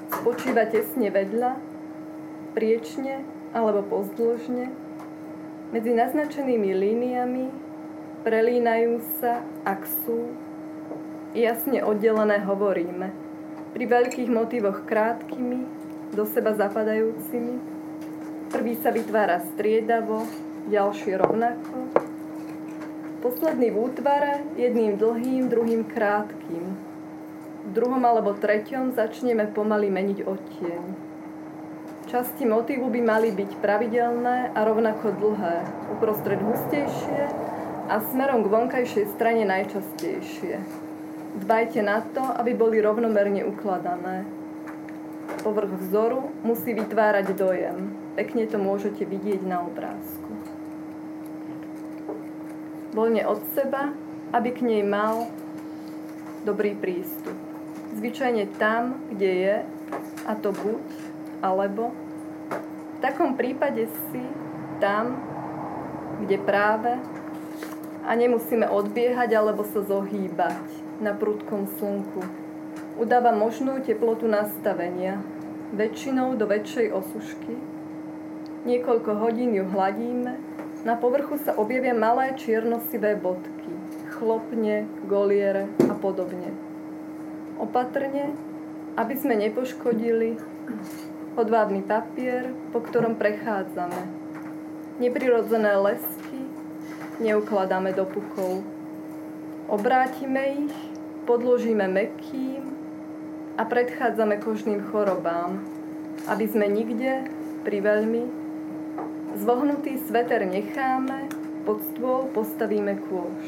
spočíva tesne vedľa, priečne alebo pozdĺžne, Medzi naznačenými líniami prelínajú sa, ak sú, jasne oddelené hovoríme. Pri veľkých motívoch krátkými, do seba zapadajúcimi. Prvý sa vytvára striedavo, ďalší rovnako. Posledný v útvare, jedným dlhým, druhým krátkým. V druhom alebo treťom začneme pomaly meniť odtieň. Časti motívu by mali byť pravidelné a rovnako dlhé, uprostred hustejšie a smerom k vonkajšej strane najčastejšie. Dbajte na to, aby boli rovnomerne ukladané. Povrch vzoru musí vytvárať dojem. Pekne to môžete vidieť na obrázku. Voľne od seba, aby k nej mal dobrý prístup. Zvyčajne tam, kde je, a to buď, alebo v takom prípade si tam, kde práve, a nemusíme odbiehať alebo sa zohýbať na prudkom slnku. Udáva možnú teplotu nastavenia, väčšinou do väčšej osušky. Niekoľko hodín ju hladíme, na povrchu sa objavia malé čierno-sivé bodky, chlopne, goliere a podobne. Opatrne, aby sme nepoškodili hodvábny papier, po ktorom prechádzame. Neprirodzené lesky neukladáme do pukov. Obrátime ich, podložíme mäkkým a predchádzame kožným chorobám, aby sme nikde, priveľmi, zvohnutý sveter necháme, pod stôl postavíme kôš.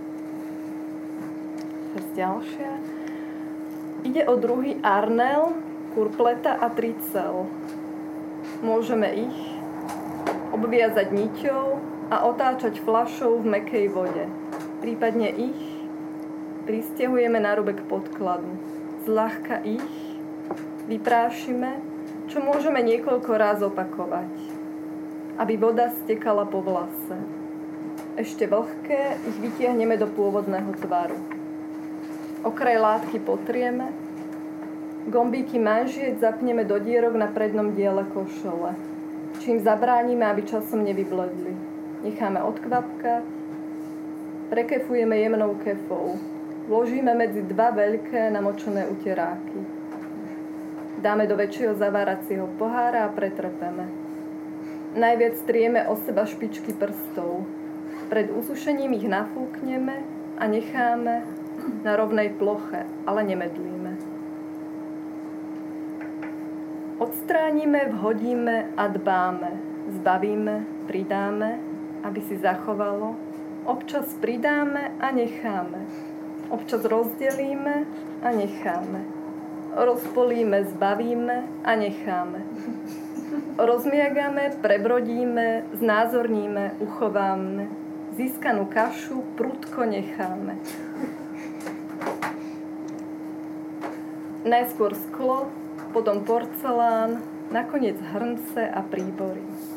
Ďalšia. Ide o druhý arnel, kurpleta a tricel. Môžeme ich obviazať niťou a otáčať fľašou v mäkkej vode. Prípadne ich prisťahujeme na rubek podkladu. Zľahka ich vyprášime, čo môžeme niekoľko ráz opakovať, aby voda stekala po vlase. Ešte vlhké ich vytiahneme do pôvodného tvaru. Okraj látky potrieme, gombíky manžiec zapneme do dierok na prednom diele košele, čím zabránime, aby časom nevybledli. Necháme odkvapkať, prekefujeme jemnou kefou. Vložíme medzi dva veľké namočené uteráky. Dáme do väčšieho zaváracieho pohára a pretrepeme. Najviac trieme o seba špičky prstov. Pred usušením ich nafúkneme a necháme na rovnej ploche, ale nemedlíme. Odstránime, vhodíme a dbáme. Zbavíme, pridáme, aby si zachovalo. Občas pridáme a necháme. Občas rozdelíme a necháme. Rozpolíme, zbavíme a necháme. Rozmiagame, prebrodíme, znázorníme, uchováme. Získanú kašu prudko necháme. Najskôr sklo, potom porcelán, nakoniec hrnce a príbory.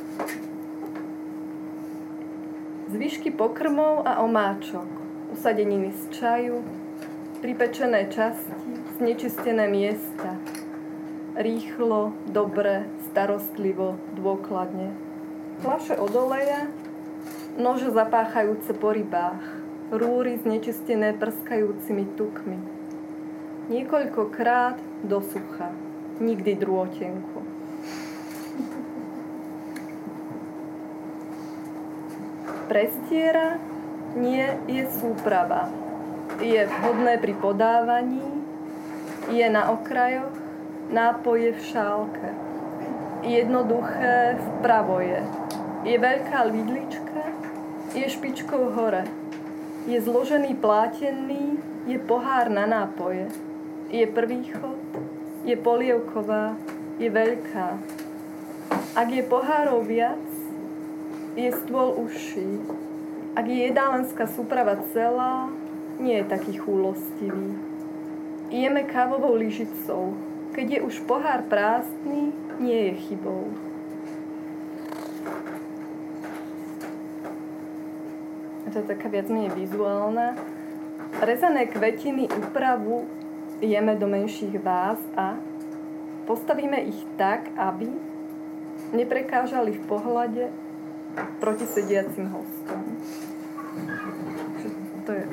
Zvyšky pokrmov a omáčok, usadeniny z čaju, pripečené časti, znečistené miesta. Rýchlo, dobre, starostlivo, dôkladne. Fľaše od oleja, nože zapáchajúce po rybách, rúry znečistené prskajúcimi tukmi. Niekoľkokrát do sucha, nikdy drôtenku. Prestiera nie je súprava. Je vhodné pri podávaní, je na okrajoch, nápoje v šálke. Jednoduché vpravo je. Je veľká vidlička, je špičkou hore. Je zložený plátený, je pohár na nápoje. Je prvý chod, je polievková, je veľká. Ak je pohárov viac, je stôl užší. Ak je jedálenská súprava celá, nie je taký chúlostivý. Jeme kávovou lyžicou. Keď je už pohár prázdny, nie je chybou. To je taká viac menej vizuálna. Rezané kvetiny úpravu jeme do menších váz a postavíme ich tak, aby neprekážali v pohľade proti sediacim hostom. To je...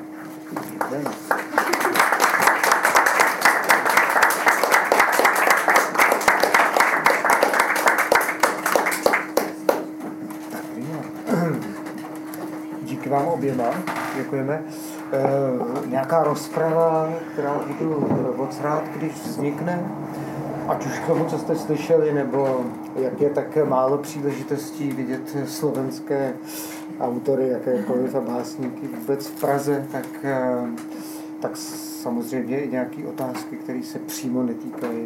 Díky vám oběma, děkujeme. E, nějaká rozprava, která budu moc rád, když vznikne, ať už k tomu, co jste slyšeli, nebo jak je tak málo příležitostí vidět slovenské autory, jakékoliv a básníky vůbec v Praze, tak, tak samozřejmě i nějaké otázky, které se přímo netýkají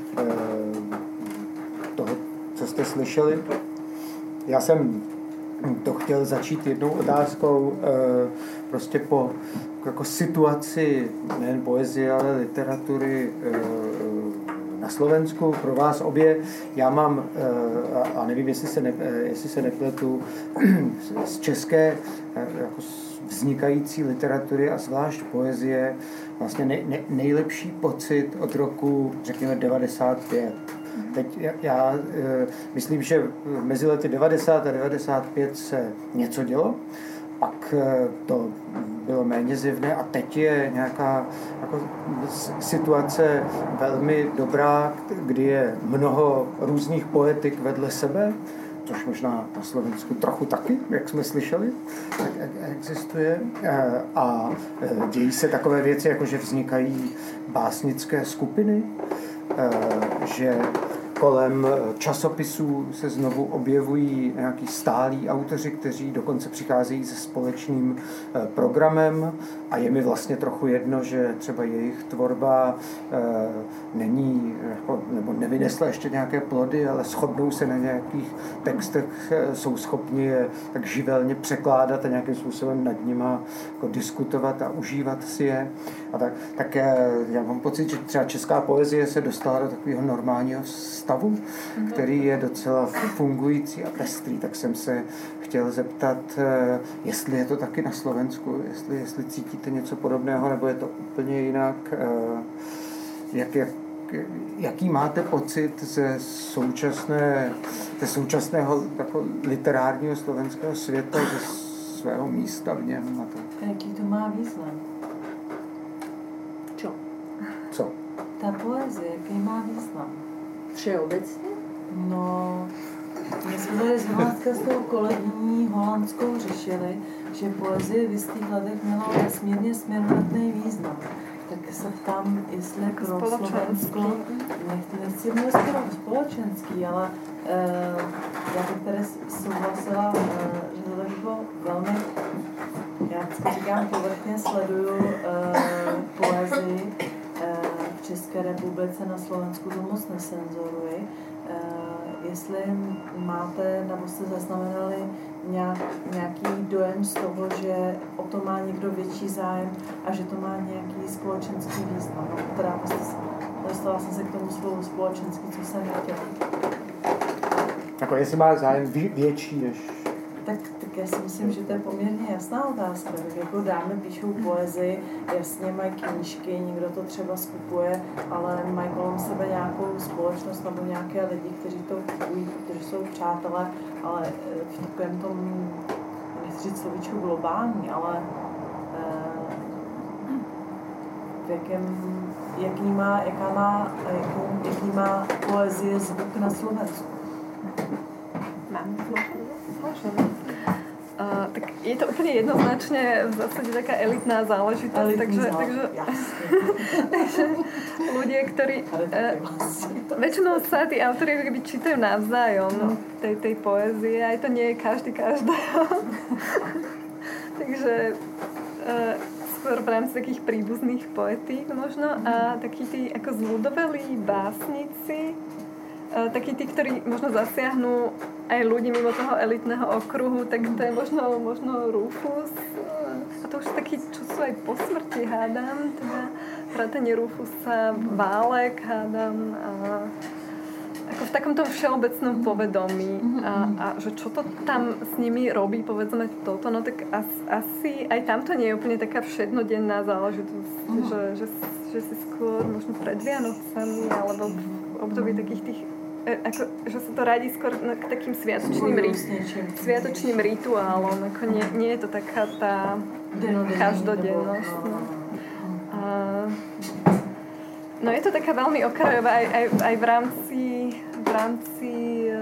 toho, co jste slyšeli. Já jsem to chtěl začít jednou otázkou prostě po jako situaci nejen poezie, ale literatury na Slovensku pro vás obě. Já mám, a nevím, jestli se, ne, jestli se nepletu, z české jako vznikající literatury a zvlášť poezie vlastně nej, nej, nejlepší pocit od roku, řekněme, devadesát pět. Teď já, já myslím, že mezi lety devadesát a devadesát pět se něco dělo, pak to bylo méně zjevné a teď je nějaká jako situace velmi dobrá, kdy je mnoho různých poetik vedle sebe, což možná na Slovensku trochu taky, jak jsme slyšeli, tak existuje. A dějí se takové věci, jako že vznikají básnické skupiny, že kolem časopisů se znovu objevují nějaký stálí autoři, kteří dokonce přicházejí se společným programem a je mi vlastně trochu jedno, že třeba jejich tvorba není, nebo nevynesla ještě nějaké plody, ale shodnou se na nějakých textech, jsou schopni je tak živelně překládat a nějakým způsobem nad nima jako diskutovat a užívat si je. A tak, tak já mám pocit, že třeba česká poezie se dostala do takového normálního stavu, který je docela fungující a pestrý, tak jsem se chtěl zeptat, jestli je to taky na Slovensku, jestli, jestli cítíte něco podobného, nebo je to úplně jinak, jak, jak, jaký máte pocit ze současné, ze současného jako literárního slovenského světa, ze svého místa v něm? A tak. Jaký to má význam? Čo? Co? Ta poezie, jaký má význam? Všeobecně? No, my jsme tady z Holandska s tou kolegyní holandskou řešili, že poezie v jistých letech měla nesmírně směrodatný význam. Tak se ptám, jestli pro Slovensko, nechci, nechci mluvit skoro společenský, ale uh, já bych tady souhlasila, uh, že to tak bylo velmi, já vždycky říkám, povrchně sleduju uh, poezii uh, v České republice, na Slovensku to moc nesenzoruji. Uh, jestli máte, nebo jste zaznamenali nějak, nějaký dojem z toho, že o to má někdo větší zájem a že to má nějaký společenský význam. Teda dostala jsem se k tomu slovu společenský, co jsem chtěla. Jako jestli má zájem větší než... Tak, tak já si myslím, že to je poměrně jasná otázka. Tak jako dámy píšou poezii, jasně mají knížky, někdo to třeba skupuje, ale mají kolem sebe nějakou společnost nebo nějaké lidi, kteří to kupují, kteří jsou přátelé, ale v takovém tom, nechci říct slovíčku globální, ale v jakém, jaký má, jaká má, jaký, jaký má poezie zvuk na Slovensku. Mám Uh, tak je to úplne jednoznačne v zásade taká elitná záležitosť, Elitný takže, zálež- takže, takže ľudia, ktorí uh, väčšinou sa tí autori ako keby čítajú navzájom no. tej, tej poézie, aj to nie je každý každého. Takže uh, skôr v rámci takých príbuzných poetík možno a takí tí ako zľudovelí básnici, takí tí, ktorí možno zasiahnu aj ľudí mimo toho elitného okruhu, tak to je možno, možno Rufus. A to už takí, čo sú aj po smrti, hádam. Teda vrátane Rufusa, Válek, hádam. A ako v takomto všeobecnom povedomí. A, a že čo to tam s nimi robí, povedzme toto, no tak as, asi aj tamto nie je úplne taká všednodenná záležitosť. Že, že, že si skôr možno pred Vianocami alebo v období takých tých ako, že sa to radí skôr k takým sviatočným, ri, sviatočným rituálom. Ako nie, nie je to taká tá každodennosť. No. A, no je to taká veľmi okrajová aj, aj, aj v rámci v rámci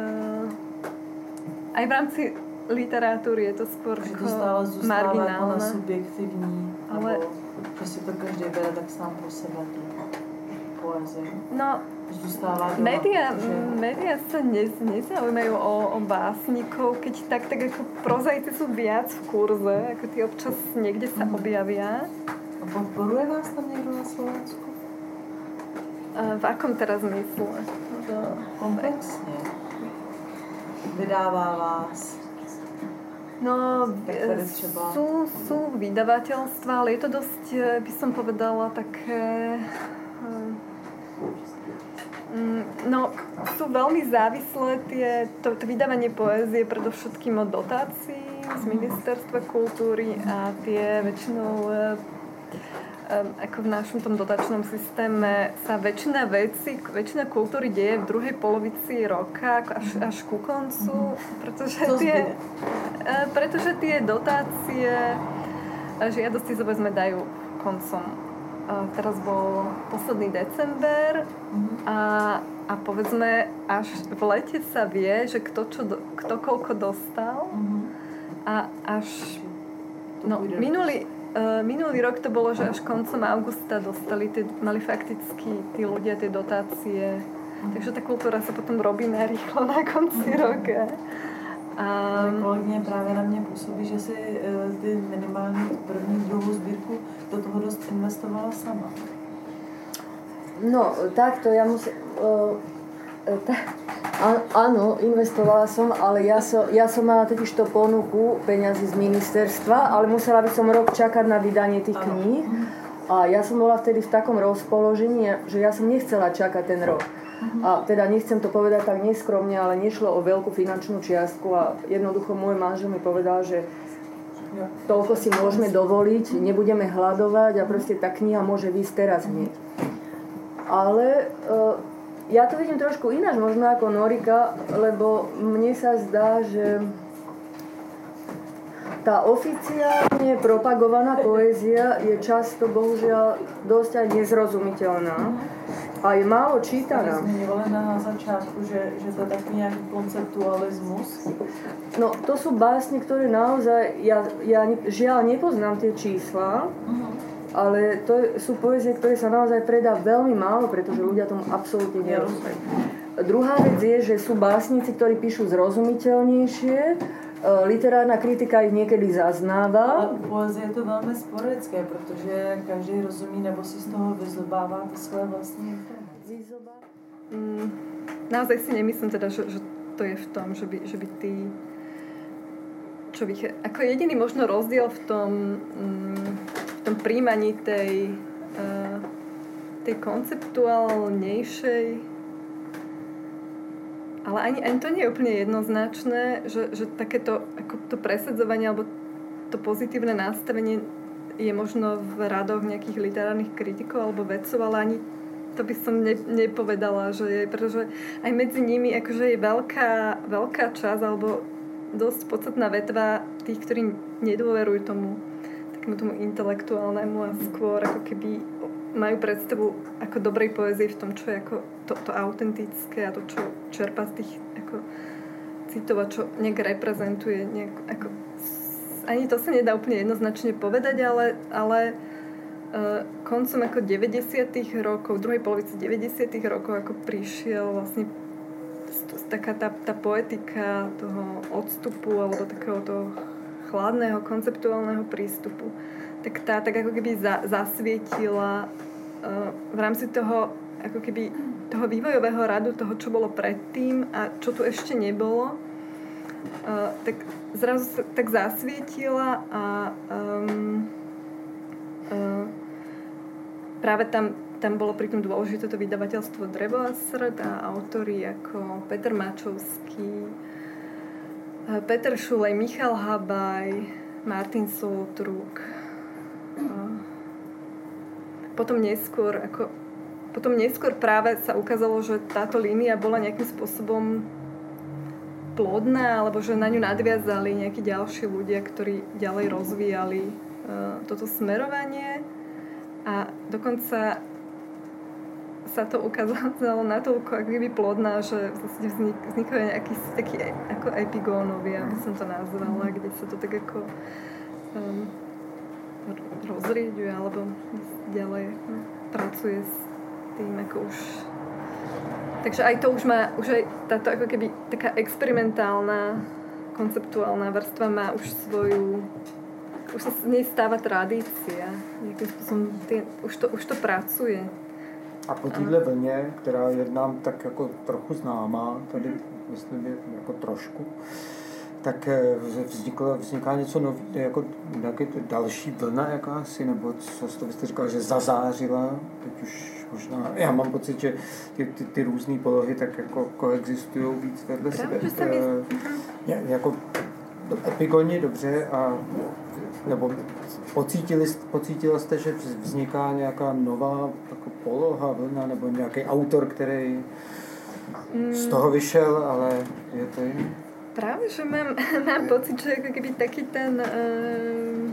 aj v rámci literatúry je to skôr že to stále marginálne. Jako na subjektivní, ale že si to každý bere tak sám pro sebe tu poezii. No, média, že... média sa ne, nezaujímajú o, o básnikov, keď tak, tak ako prozaici sú viac v kurze, ako tí občas niekde sa objavia. A podporuje vás tam niekto na Slovensku? A v akom teraz mysle? Komplexne. Vydává vás. No, sú, sú vydavateľstva, ale je to dosť, by som povedala, také... No, sú veľmi závislé tie, to, to vydávanie poézie predovšetkým od dotácií z Ministerstva kultúry a tie väčšinou... ako v našom tom dotačnom systéme sa väčšina veci, väčšina kultúry deje v druhej polovici roka až, až ku koncu, pretože tie, pretože tie dotácie žiadosti sa povedzme dajú koncom. Teraz bol posledný december a, a povedzme až v lete sa vie, že kto, čo, kto koľko dostal a až no, minulý Uh, minulý rok to bolo, že až koncom augusta dostali, tie, mali fakticky tí ľudia tie dotácie. Mm. Takže tá kultúra sa potom robí narýchlo na konci mm. roka. A kolegyně právě na mě působí, že si uh, ty minimální první, druhou sbírku do toho dost investovala sama. No, takto ja musím... Uh, tá, áno, investovala som, ale ja som, ja som mala totiž to ponuku peňazí z ministerstva, ale musela by som rok čakať na vydanie tých kníh. A ja som bola vtedy v takom rozpoložení, že ja som nechcela čakať ten rok. A teda nechcem to povedať tak neskromne, ale nešlo o veľkú finančnú čiastku a jednoducho môj manžel mi povedal, že toľko si môžeme dovoliť, nebudeme hľadovať a proste tá kniha môže výsť teraz hneď. Ale... Uh, Ja to vidím trošku ináč, možno ako Norika, lebo mne sa zdá, že tá oficiálne propagovaná poézia je často, bohužiaľ, dosť aj nezrozumiteľná a je málo čítaná. Zmiňovali na začiatku, že, že to je taký nejaký konceptualizmus. No, to sú básne, ktoré naozaj, ja, ja žiaľ nepoznám tie čísla, uh-huh. ale to sú poézie, ktoré sa naozaj predá veľmi málo, pretože ľudia tomu absolútne nerozumejú. Druhá vec je, že sú básnici, ktorí píšu zrozumiteľnejšie, literárna kritika ich niekedy zaznáva. Ale u poezie je to veľmi sporadické, protože každý rozumí nebo si z toho vyzobává to svoje vlastní informace. Mm, naozaj si nemyslím teda, že, že to je v tom, že by, že by tí čo by, ako jediný možno rozdiel v tom mm, v tom príjmaní tej, uh, tej konceptuálnejšej, ale ani, ani to nie je úplne jednoznačné, že, že takéto ako to presadzovanie alebo to pozitívne nastavenie je možno v radoch nejakých literárnych kritikov alebo vedcov, ale ani to by som ne, nepovedala, že je, pretože aj medzi nimi akože je veľká, veľká časť alebo dosť podstatná vetva tých, ktorí nedôverujú tomu takému tomu intelektuálnemu a skôr ako keby majú predstavu ako dobrej poézie v tom, čo je ako to, to autentické a to, čo čerpá z tých ako citov a čo nejak reprezentuje. Nejak, ako, ani to sa nedá úplne jednoznačne povedať, ale, ale uh, koncom ako deväťdesiatych rokov, v druhej polovici deväťdesiatych rokov ako prišiel vlastne taká tá, tá poetika toho odstupu alebo takého toho chladného, konceptuálneho prístupu, tak tá tak ako keby za, zasvietila uh, v rámci toho ako keby toho vývojového radu, toho, čo bolo predtým a čo tu ešte nebolo, uh, tak zrazu sa tak zasvietila a um, uh, práve tam, tam bolo pritom dôležité to vydavateľstvo Drevo a srd a autori ako Peter Mačovský, Peter Šulej, Michal Habaj, Martin Soltruk. Potom neskôr ako potom neskôr práve sa ukázalo, že táto línia bola nejakým spôsobom plodná, alebo že na ňu nadviazali nejakí ďalší ľudia, ktorí ďalej rozvíjali uh, toto smerovanie. A dokonca sa to ukázalo natoľko ako keby plodná, že vlastne vznik, vznikajú nejaký taký ako epigónovia, aby som to nazvala, kde sa to tak ako um, rozrieďuje alebo ďalej no, pracuje s tým ako už. Takže aj to už má, už aj táto ako keby taká experimentálna konceptuálna vrstva má už svoju, už sa z nej stáva tradícia. Nejakým spôsobom tý, už, to, už to pracuje. A po téhle vlně, která je nám tak jako trochu známá, tady myslím, je jako trošku, tak vzniklo, vzniká něco nový, jako nějaký další vlna jakási, nebo co to byste říkala, že zazářila, teď už možná, já mám pocit, že ty, ty, ty různé polohy tak jako koexistují víc vedle sebe. Je, jako epigonně dobře a nebo pocítili, pocítila jste, že vzniká nějaká nová jako poloha, vlna, nebo nějaký autor, který z toho vyšel, ale je to jiný? Práve, že mám, mám pocit, že ako keby taký ten um,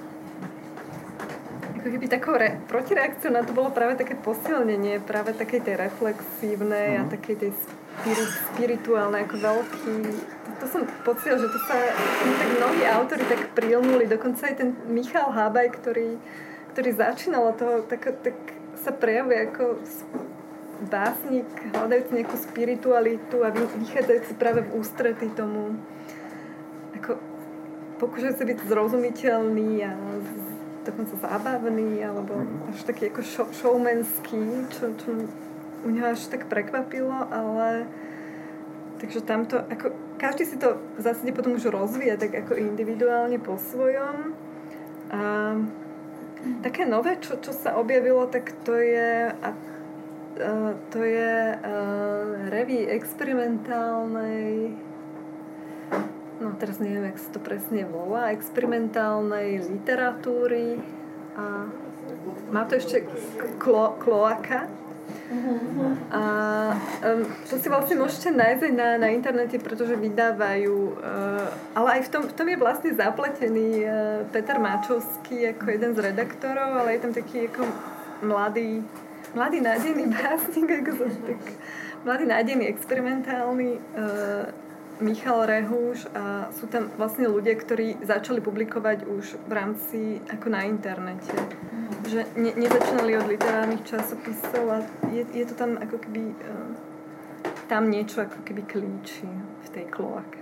ako keby takou re, protireakciou na to bolo práve také posilnenie práve takej tej reflexívnej mm. a takej tej spirit, spirituálnej ako veľký. To, to som pocitila, že to sa tak mnohí autori tak prilnuli, dokonca aj ten Michal Hábaj, ktorý, ktorý začínal toho, tak, tak sa prejavuje ako básnik, hľadajúci nejakú spiritualitu a vychádzajúci práve v ústrety tomu ako pokúšajúci byť zrozumiteľný a dokonca zábavný alebo až taký ako show, showmanský, čo, čo u neho až tak prekvapilo, ale takže tamto, ako každý si to v zásade potom už rozvíja tak ako individuálne po svojom a také nové, čo, čo sa objavilo, tak to je a Uh, to je uh, reví experimentálnej, no teraz neviem, jak sa to presne volá, experimentálnej literatúry a má to ešte klo, kloaka. A um, to si vlastne môžete nájsť aj na, na internete, pretože vydávajú, uh, ale aj v tom, v tom je vlastne zapletený uh, Peter Máčovský ako jeden z redaktorov, ale je tam taký ako mladý mladý nádejný básnik, ako som tak mladý nádejný experimentálny uh, Michal Rehúš a sú tam vlastne ľudia, ktorí začali publikovať už v rámci ako na internete. Mm. Že ne, nezačínali od literárnych časopisov a je, je to tam ako keby uh, tam niečo ako keby klíči v tej kloake.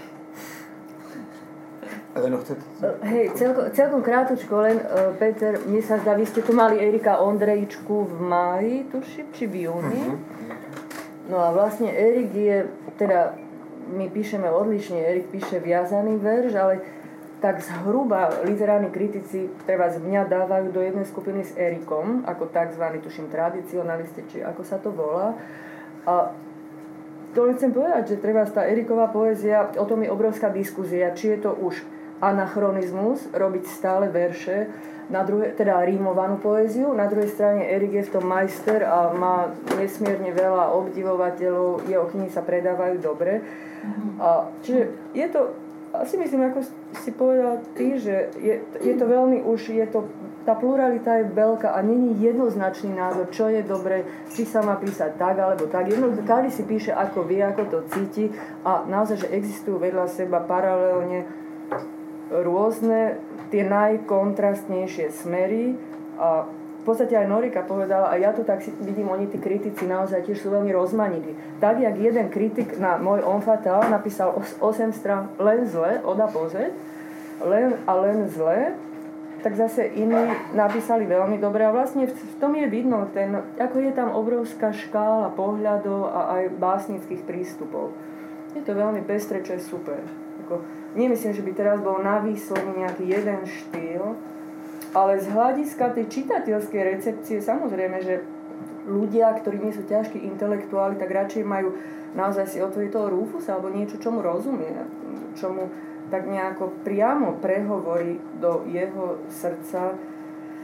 Hej, celko, celkom krátučko, len uh, Peter, mne sa zdá, vy ste tu mali Erika Ondrejčku v máji, tuším, či v júni. No a vlastne Erik je, teda my píšeme odlišne, Erik píše viazaný verš, ale tak zhruba literárni kritici treba z mňa dávajú do jednej skupiny s Erikom, ako takzvaný, tuším, tradicionalisti, či ako sa to volá. A to len chcem povedať, že treba tá Eriková poézia, o tom je obrovská diskuzia, či je to už anachronizmus, robiť stále verše, na druhej, teda rímovanú poéziu, na druhej strane Erik je v tom majster a má nesmierne veľa obdivovateľov, jeho knihy sa predávajú dobre. A, čiže je to, asi myslím, ako si povedal ty, že je, je to veľmi už, je to, tá pluralita je veľká a není jednoznačný názor, čo je dobre, či sa má písať tak alebo tak. Jednoducho, každý si píše, ako vie, ako to cíti a naozaj, že existujú vedľa seba paralelne rôzne, tie najkontrastnejšie smery a v podstate aj Norika povedala, a ja to tak si vidím, oni tí kritici naozaj tiež sú veľmi rozmanití. Tak, jak jeden kritik na môj On Fatal napísal osem strán len zle, od A po Z, len a len zle, tak zase iní napísali veľmi dobre a vlastne v tom je vidno, ten, ako je tam obrovská škála pohľadov a aj básnických prístupov. Je to veľmi pestré, čo je super. Ako, nemyslím, že by teraz bol na výsledný nejaký jeden štýl, ale z hľadiska tej čitateľskej recepcie samozrejme, že ľudia, ktorí nie sú ťažkí intelektuáli, tak radšej majú naozaj si otvoriť toho Rufusa alebo niečo, čomu rozumie, čomu tak nejako priamo prehovorí do jeho srdca.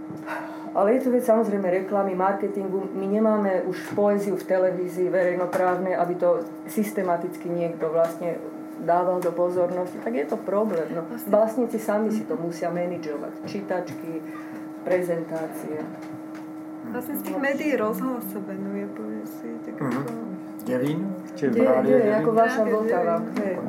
Ale je to vec samozrejme reklamy, marketingu. My nemáme už poéziu v televízii verejnoprávnej, aby to systematicky niekto vlastne dával do pozornosti. Tak je to problém. No, básnici sami si to musia manažovať. Čítačky, prezentácie. Vlastne z tých médií rozhlas sa venuje poézii. Tak mm-hmm. ako... Děvín? Či Děvín, ako vaša Vltava.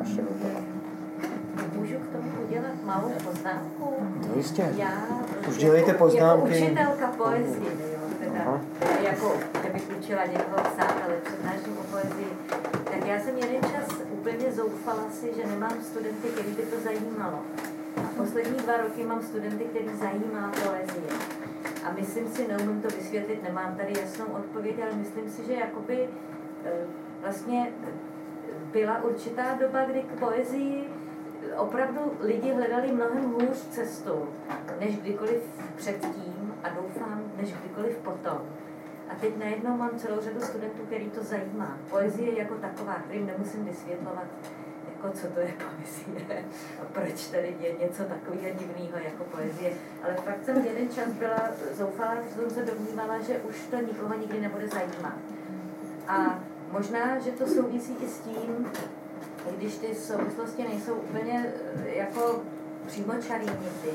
Můžu k tomu udělat malou poznámku? No jistě. Já už dělejte poznámky. Jako učitelka poezie, jo, teda, teda jako, kdybych učila někoho psát, ale přednáším o poezii, tak já jsem jeden čas úplně zoufala si, že nemám studenty, který by to zajímalo. A poslední dva roky mám studenty, který zajímá poezie. A myslím si, neumím to vysvětlit, nemám tady jasnou odpověď, ale myslím si, že jakoby vlastně byla určitá doba, kdy k poezii opravdu lidi hledali mnohem hůř cestu, než kdykoliv předtím a doufám, než kdykoliv potom. A teď najednou mám celou řadu studentů, který to zajímá. Poezie jako taková, kterým nemusím vysvětlovat, jako co to je poezie a proč tady je něco takového divného jako poezie. Ale fakt jsem jeden čas byla zoufalá, že jsem se domnívala, že už to nikoho nikdy nebude zajímat. A možná, že to souvisí i s tím, když ty souvislosti nejsou úplně jako přímočarý někdy,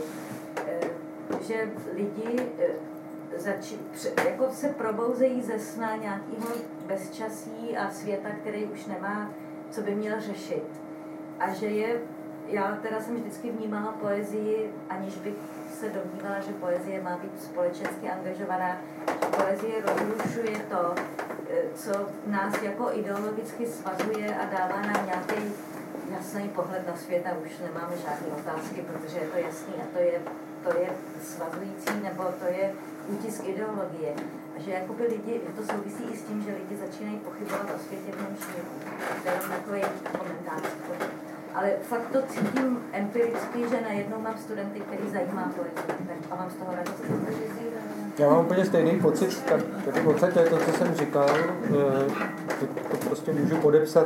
že lidi zači, jako se probouzejí ze sna nějakého bezčasí a světa, který už nemá, co by měl řešit. A že je, já teda jsem vždycky vnímala poezii, aniž bych se domnívala, že poezie má být společensky angažovaná. Poezie rozrušuje to, co nás jako ideologicky svazuje a dává nám nějaký jasný pohled na svět a už nemáme žádné otázky, protože je to jasný a to je, to je svazující, nebo to je útisk ideologie. A že jakoby lidi, že to souvisí i s tím, že lidi začínají pochybovat o světě v něm šíru. To je takový komentář. Ale fakt to cítím empiricky, že najednou mám studenty, který zajímá poezii a mám z toho radost. Já mám úplně stejný pocit, tak tady v podstatě to, co jsem říkal, to, to prostě můžu podepsat.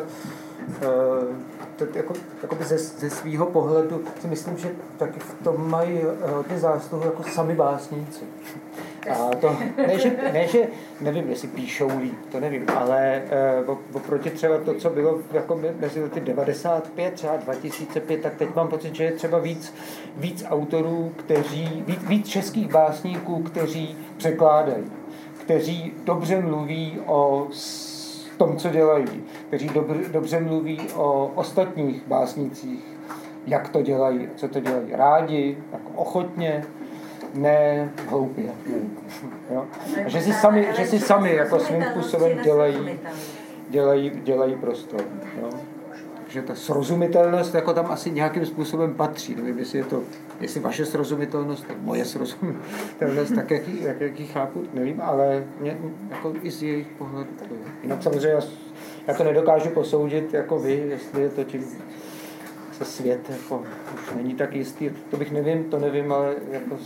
To, jako, jako ze, ze svýho pohledu si myslím, že taky v tom mají hodně zásluhu jako sami básníci. A to, ne, že, ne, že nevím, jestli píšou líp, to nevím, ale uh, oproti třeba to, co bylo jako mezi lety devadesát pět, třeba dva tisíce pět, tak teď mám pocit, že je třeba víc, víc autorů, kteří, víc, víc českých básníků, kteří překládají, kteří dobře mluví o tom, co dělají, kteří dobře, dobře mluví o ostatních básnících, jak to dělají, co to dělají rádi, jako ochotně, ne hloupě. Jo? A že si sami, že si sami jako svým způsobem dělají, dělají, dělají prostor. Jo? Že ta srozumitelnost jako tam asi nějakým způsobem patří. Nevím, jestli je to, jestli vaše srozumitelnost, tak moje srozumitelnost, tak jaký, jak, jaký chápu, nevím, ale mě, jako i z jejich pohledu to je. Jinak samozřejmě já, já to nedokážu posoudit jako vy, jestli je to tím se svět jako už není tak jistý, to bych nevím, to nevím, ale jako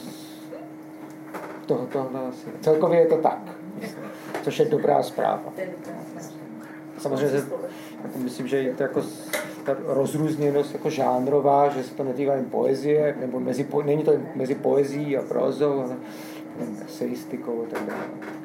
toho, tohle asi. Celkově je to tak, což je dobrá zpráva. Samozřejmě jako myslím, že je to jako ta rozrůzněnost jako žánrová, že se to netýká jen poezie, nebo mezi, není to mezi poezií a prózou, ale eseistikou a tak dále.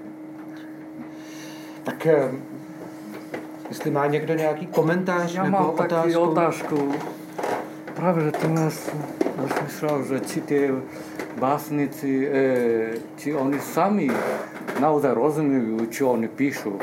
Tak jestli má někdo nějaký komentář Já nebo mám otázku? taky otázku. Právě, že tu nás rozmyslel, že či tie básnici, e, či oni sami naozaj rozumiejú, čo oni píšu.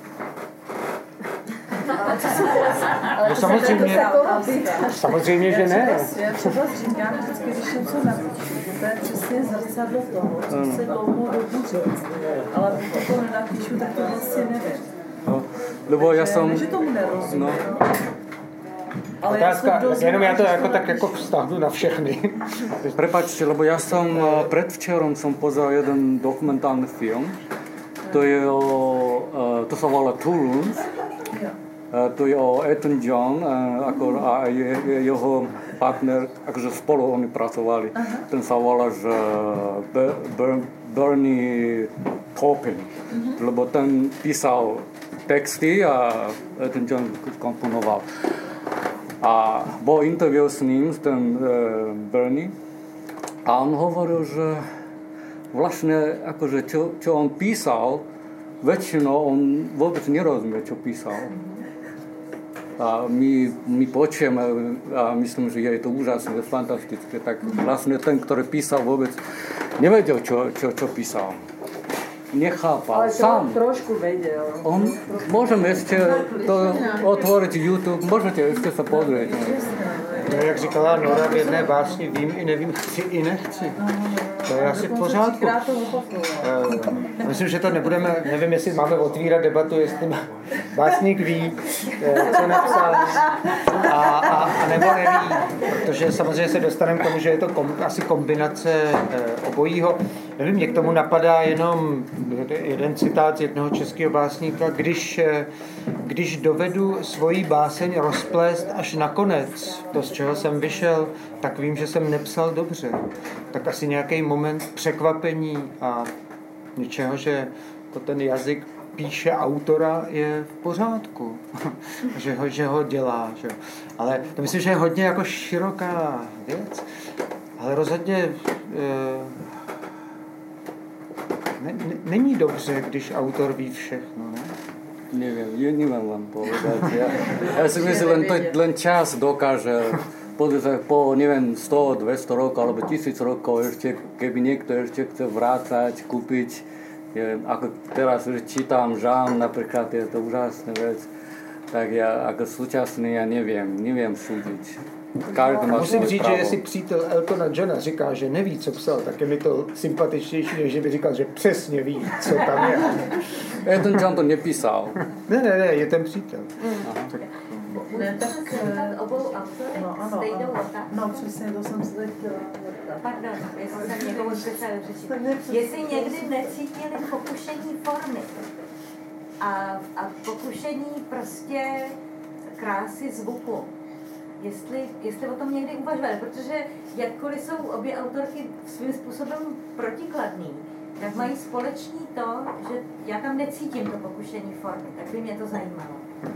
No samozřejmě, samozřejmě, že ne. Já třeba říkám vždycky, když něco napíšu, že to je přesně zrcadlo toho, co se dlouhou dobu říct. Ale pokud to nenapíšu, tak to vlastně nevím. No, lebo ja som... Ne, že tomu nerozumím. No. Ale Otázka, ja jenom já to jako tak jako vztahnu na všechny. Prepačte, lebo ja som predvčerom som pozeral jeden dokumentálny film. To je o, to sa volá Toulouse. To je o Elton John ako, a je, je jeho partner, akože spolu oni pracovali. Uh-huh. Ten sa volá, že Ber, Ber, Bernie Taupin, uh-huh. Lebo ten písal texty a Elton John komponoval. A bol interview s ním, ten uh, Bernie, a on hovoril, že vlastne akože čo, čo on písal, väčšinou on vôbec nerozumie, čo písal. A my, my počujeme a myslím, že je to úžasné, fantastické. Tak vlastne ten, ktorý písal, vôbec nevedel, čo, čo, čo písal. Nechápal. Ale to sám. trošku vedel. On, môžeme ešte to otvoriť YouTube, môžete ešte sa pozrieť. No, jak říkala Nora v jedné básni, vím i nevím, chci i nechci. To je asi v pořádku. Uh, myslím, že to nebudeme, nevím, jestli máme otvírat debatu, jestli má básník ví, co napsal, a, a, a nebo neví, protože samozřejmě se dostaneme k tomu, že je to kom, asi kombinace uh, obojího. Nevím, mě k tomu napadá jenom jeden citát z jednoho českého básníka, když, když dovedu svoji báseň rozplést až na konec, to, z čeho jsem vyšel, tak vím, že jsem nepsal dobře. Tak asi nějaký moment překvapení a něčeho, že to ten jazyk píše autora, je v pořádku. že, ho, že ho dělá. Že? Ale to myslím, že je hodně jako široká věc. Ale rozhodně e, ne, ne, není dobře, když autor ví všechno, ne? Neviem, ja neviem vám povedať. Ja, ja si myslím, len, to, len čas dokáže podľa, po, neviem, sto, dvesto rokov alebo tisíc rokov ešte, keby niekto ešte chce vrácať, kúpiť, neviem, ako teraz čítam Žán, napríklad, je to úžasná vec, tak ja ako súčasný, ja neviem, neviem súdiť. Musím říct, právo. Že jestli přítel Eltona Johna říká, že neví, co psal, tak je mi to sympatičnější, než že by říkal, že přesně ví, co tam je. Elton John to nepísal. Ne, ne, ne, je ten přítel. Tak, ne, tak obou autorek no, ano, stejnou ano. otázku. No, přesně, to jsem se teď chtěla. Pardon, jestli jsem někomu speciálně řečit. Jestli někdy necítili pokušení formy a, a pokušení prostě krásy zvuku. Jestli, jestli o tom někdy uvažovali, protože jakkoliv jsou obě autorky svým způsobem protikladný, tak mají společný to, že já tam necítím to pokušení formy, tak by mě to zajímalo.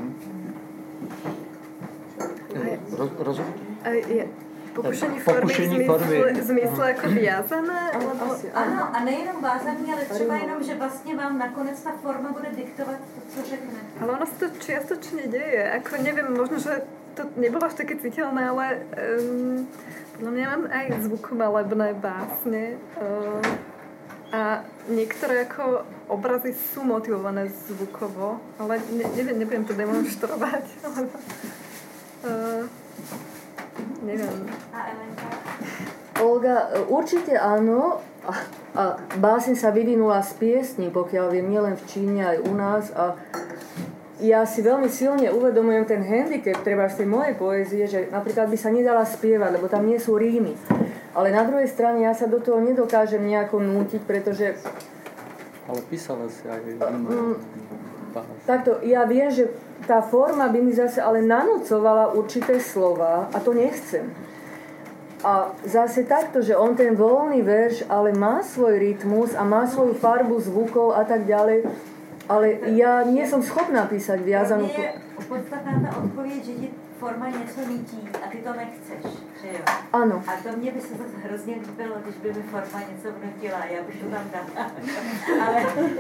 Roz, rozumím? Pokušení formy Pokušení v formy. zmysle, zmysle jako viazané? Alebo... Ano, a nejenom vázaný, ale třeba jenom, že vlastně vám nakonec ta forma bude diktovat to, co řekne. Ale ono se to čiastočne deje. Ako neviem, možno, že to nebolo až také citeľné, ale um, podľa mňa mám aj zvukomalebné básne. Um, a niektoré ako obrazy sú motivované zvukovo, ale ne, neviem, nebudem to demonštrovať. Ale, uh, neviem. A Elenka? Olga, určite áno. A, a báseň sa vyvinula z piesní, pokiaľ viem, nielen v Číne, aj u nás. A ja si veľmi silne uvedomujem ten handicap treba z tej mojej poézie, že napríklad by sa nedala spievať, lebo tam nie sú rímy. Ale na druhej strane ja sa do toho nedokážem nejako nútiť, pretože... Ale písala si aj... Mm, takto, ja viem, že tá forma by mi zase ale nanúcovala určité slova a to nechcem. A zase takto, že on ten voľný verš ale má svoj rytmus a má svoju farbu zvukov a tak ďalej, ale ja nie som schopná písať viazanú... Pro mě je podstatná ta odpověď, že ti forma něco nutí a ty to nechceš, že jo? Ano. A to mě by se zase hrozně líbilo, když by mi forma něco vnutila, já bych to tam dala. Ale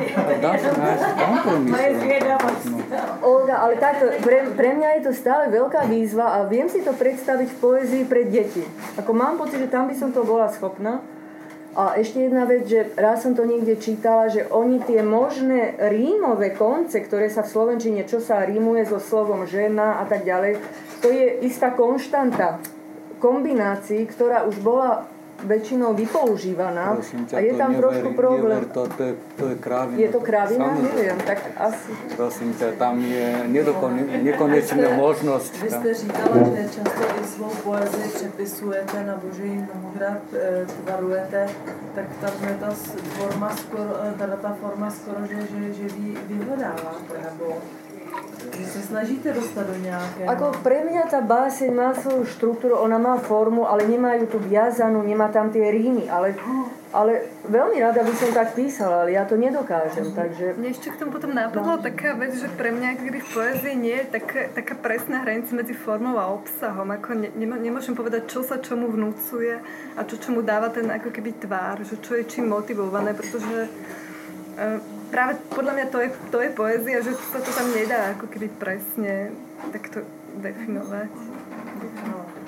moje zvědavost. Olga, ale takto, pre, pre mňa je to stále veľká výzva a viem si to predstaviť v poézii pre deti. Ako mám pocit, že tam by som to bola schopná. A ešte jedna vec, že raz som to niekde čítala, že oni tie možné rímové konce, ktoré sa v slovenčine, čo sa rímuje so slovom žena a tak ďalej, to je istá konštanta kombinácií, ktorá už bola väčšinou vypoužívaná. Ťa, a je tam never, trošku problém. Never, to, to, je, to je krávina. Je to krávina? Neviem, tak asi. Prosím ťa, tam je nekonečná možnosť. Vy jste říkala, že často i svou poezii přepisujete na boží mnohokrát e, tvarujete, tak tam je ta forma skoro, teda ta forma skoro, že, že, že vy vyhledáváte, nebo že se snažíte dostat do nějaké... Ako pre mňa tá báseň má svoju štruktúru, ona má formu, ale nemá ju tu viazanú, nemá tam tie rímy, ale ale veľmi rada by som tak písala, ale ja to nedokážem, takže... Mne ešte k tomu potom napadla taká vec, že pre mňa keby v poézii nie je taká, taká presná hranica medzi formou a obsahom. Ako ne, nemôžem povedať, čo sa čomu vnúcuje a čo čomu dáva ten ako keby tvár, že čo je čím motivované, pretože uh, práve podľa mňa to je, to je poézia, že sa to tam nedá ako keby presne takto definovať. definovať.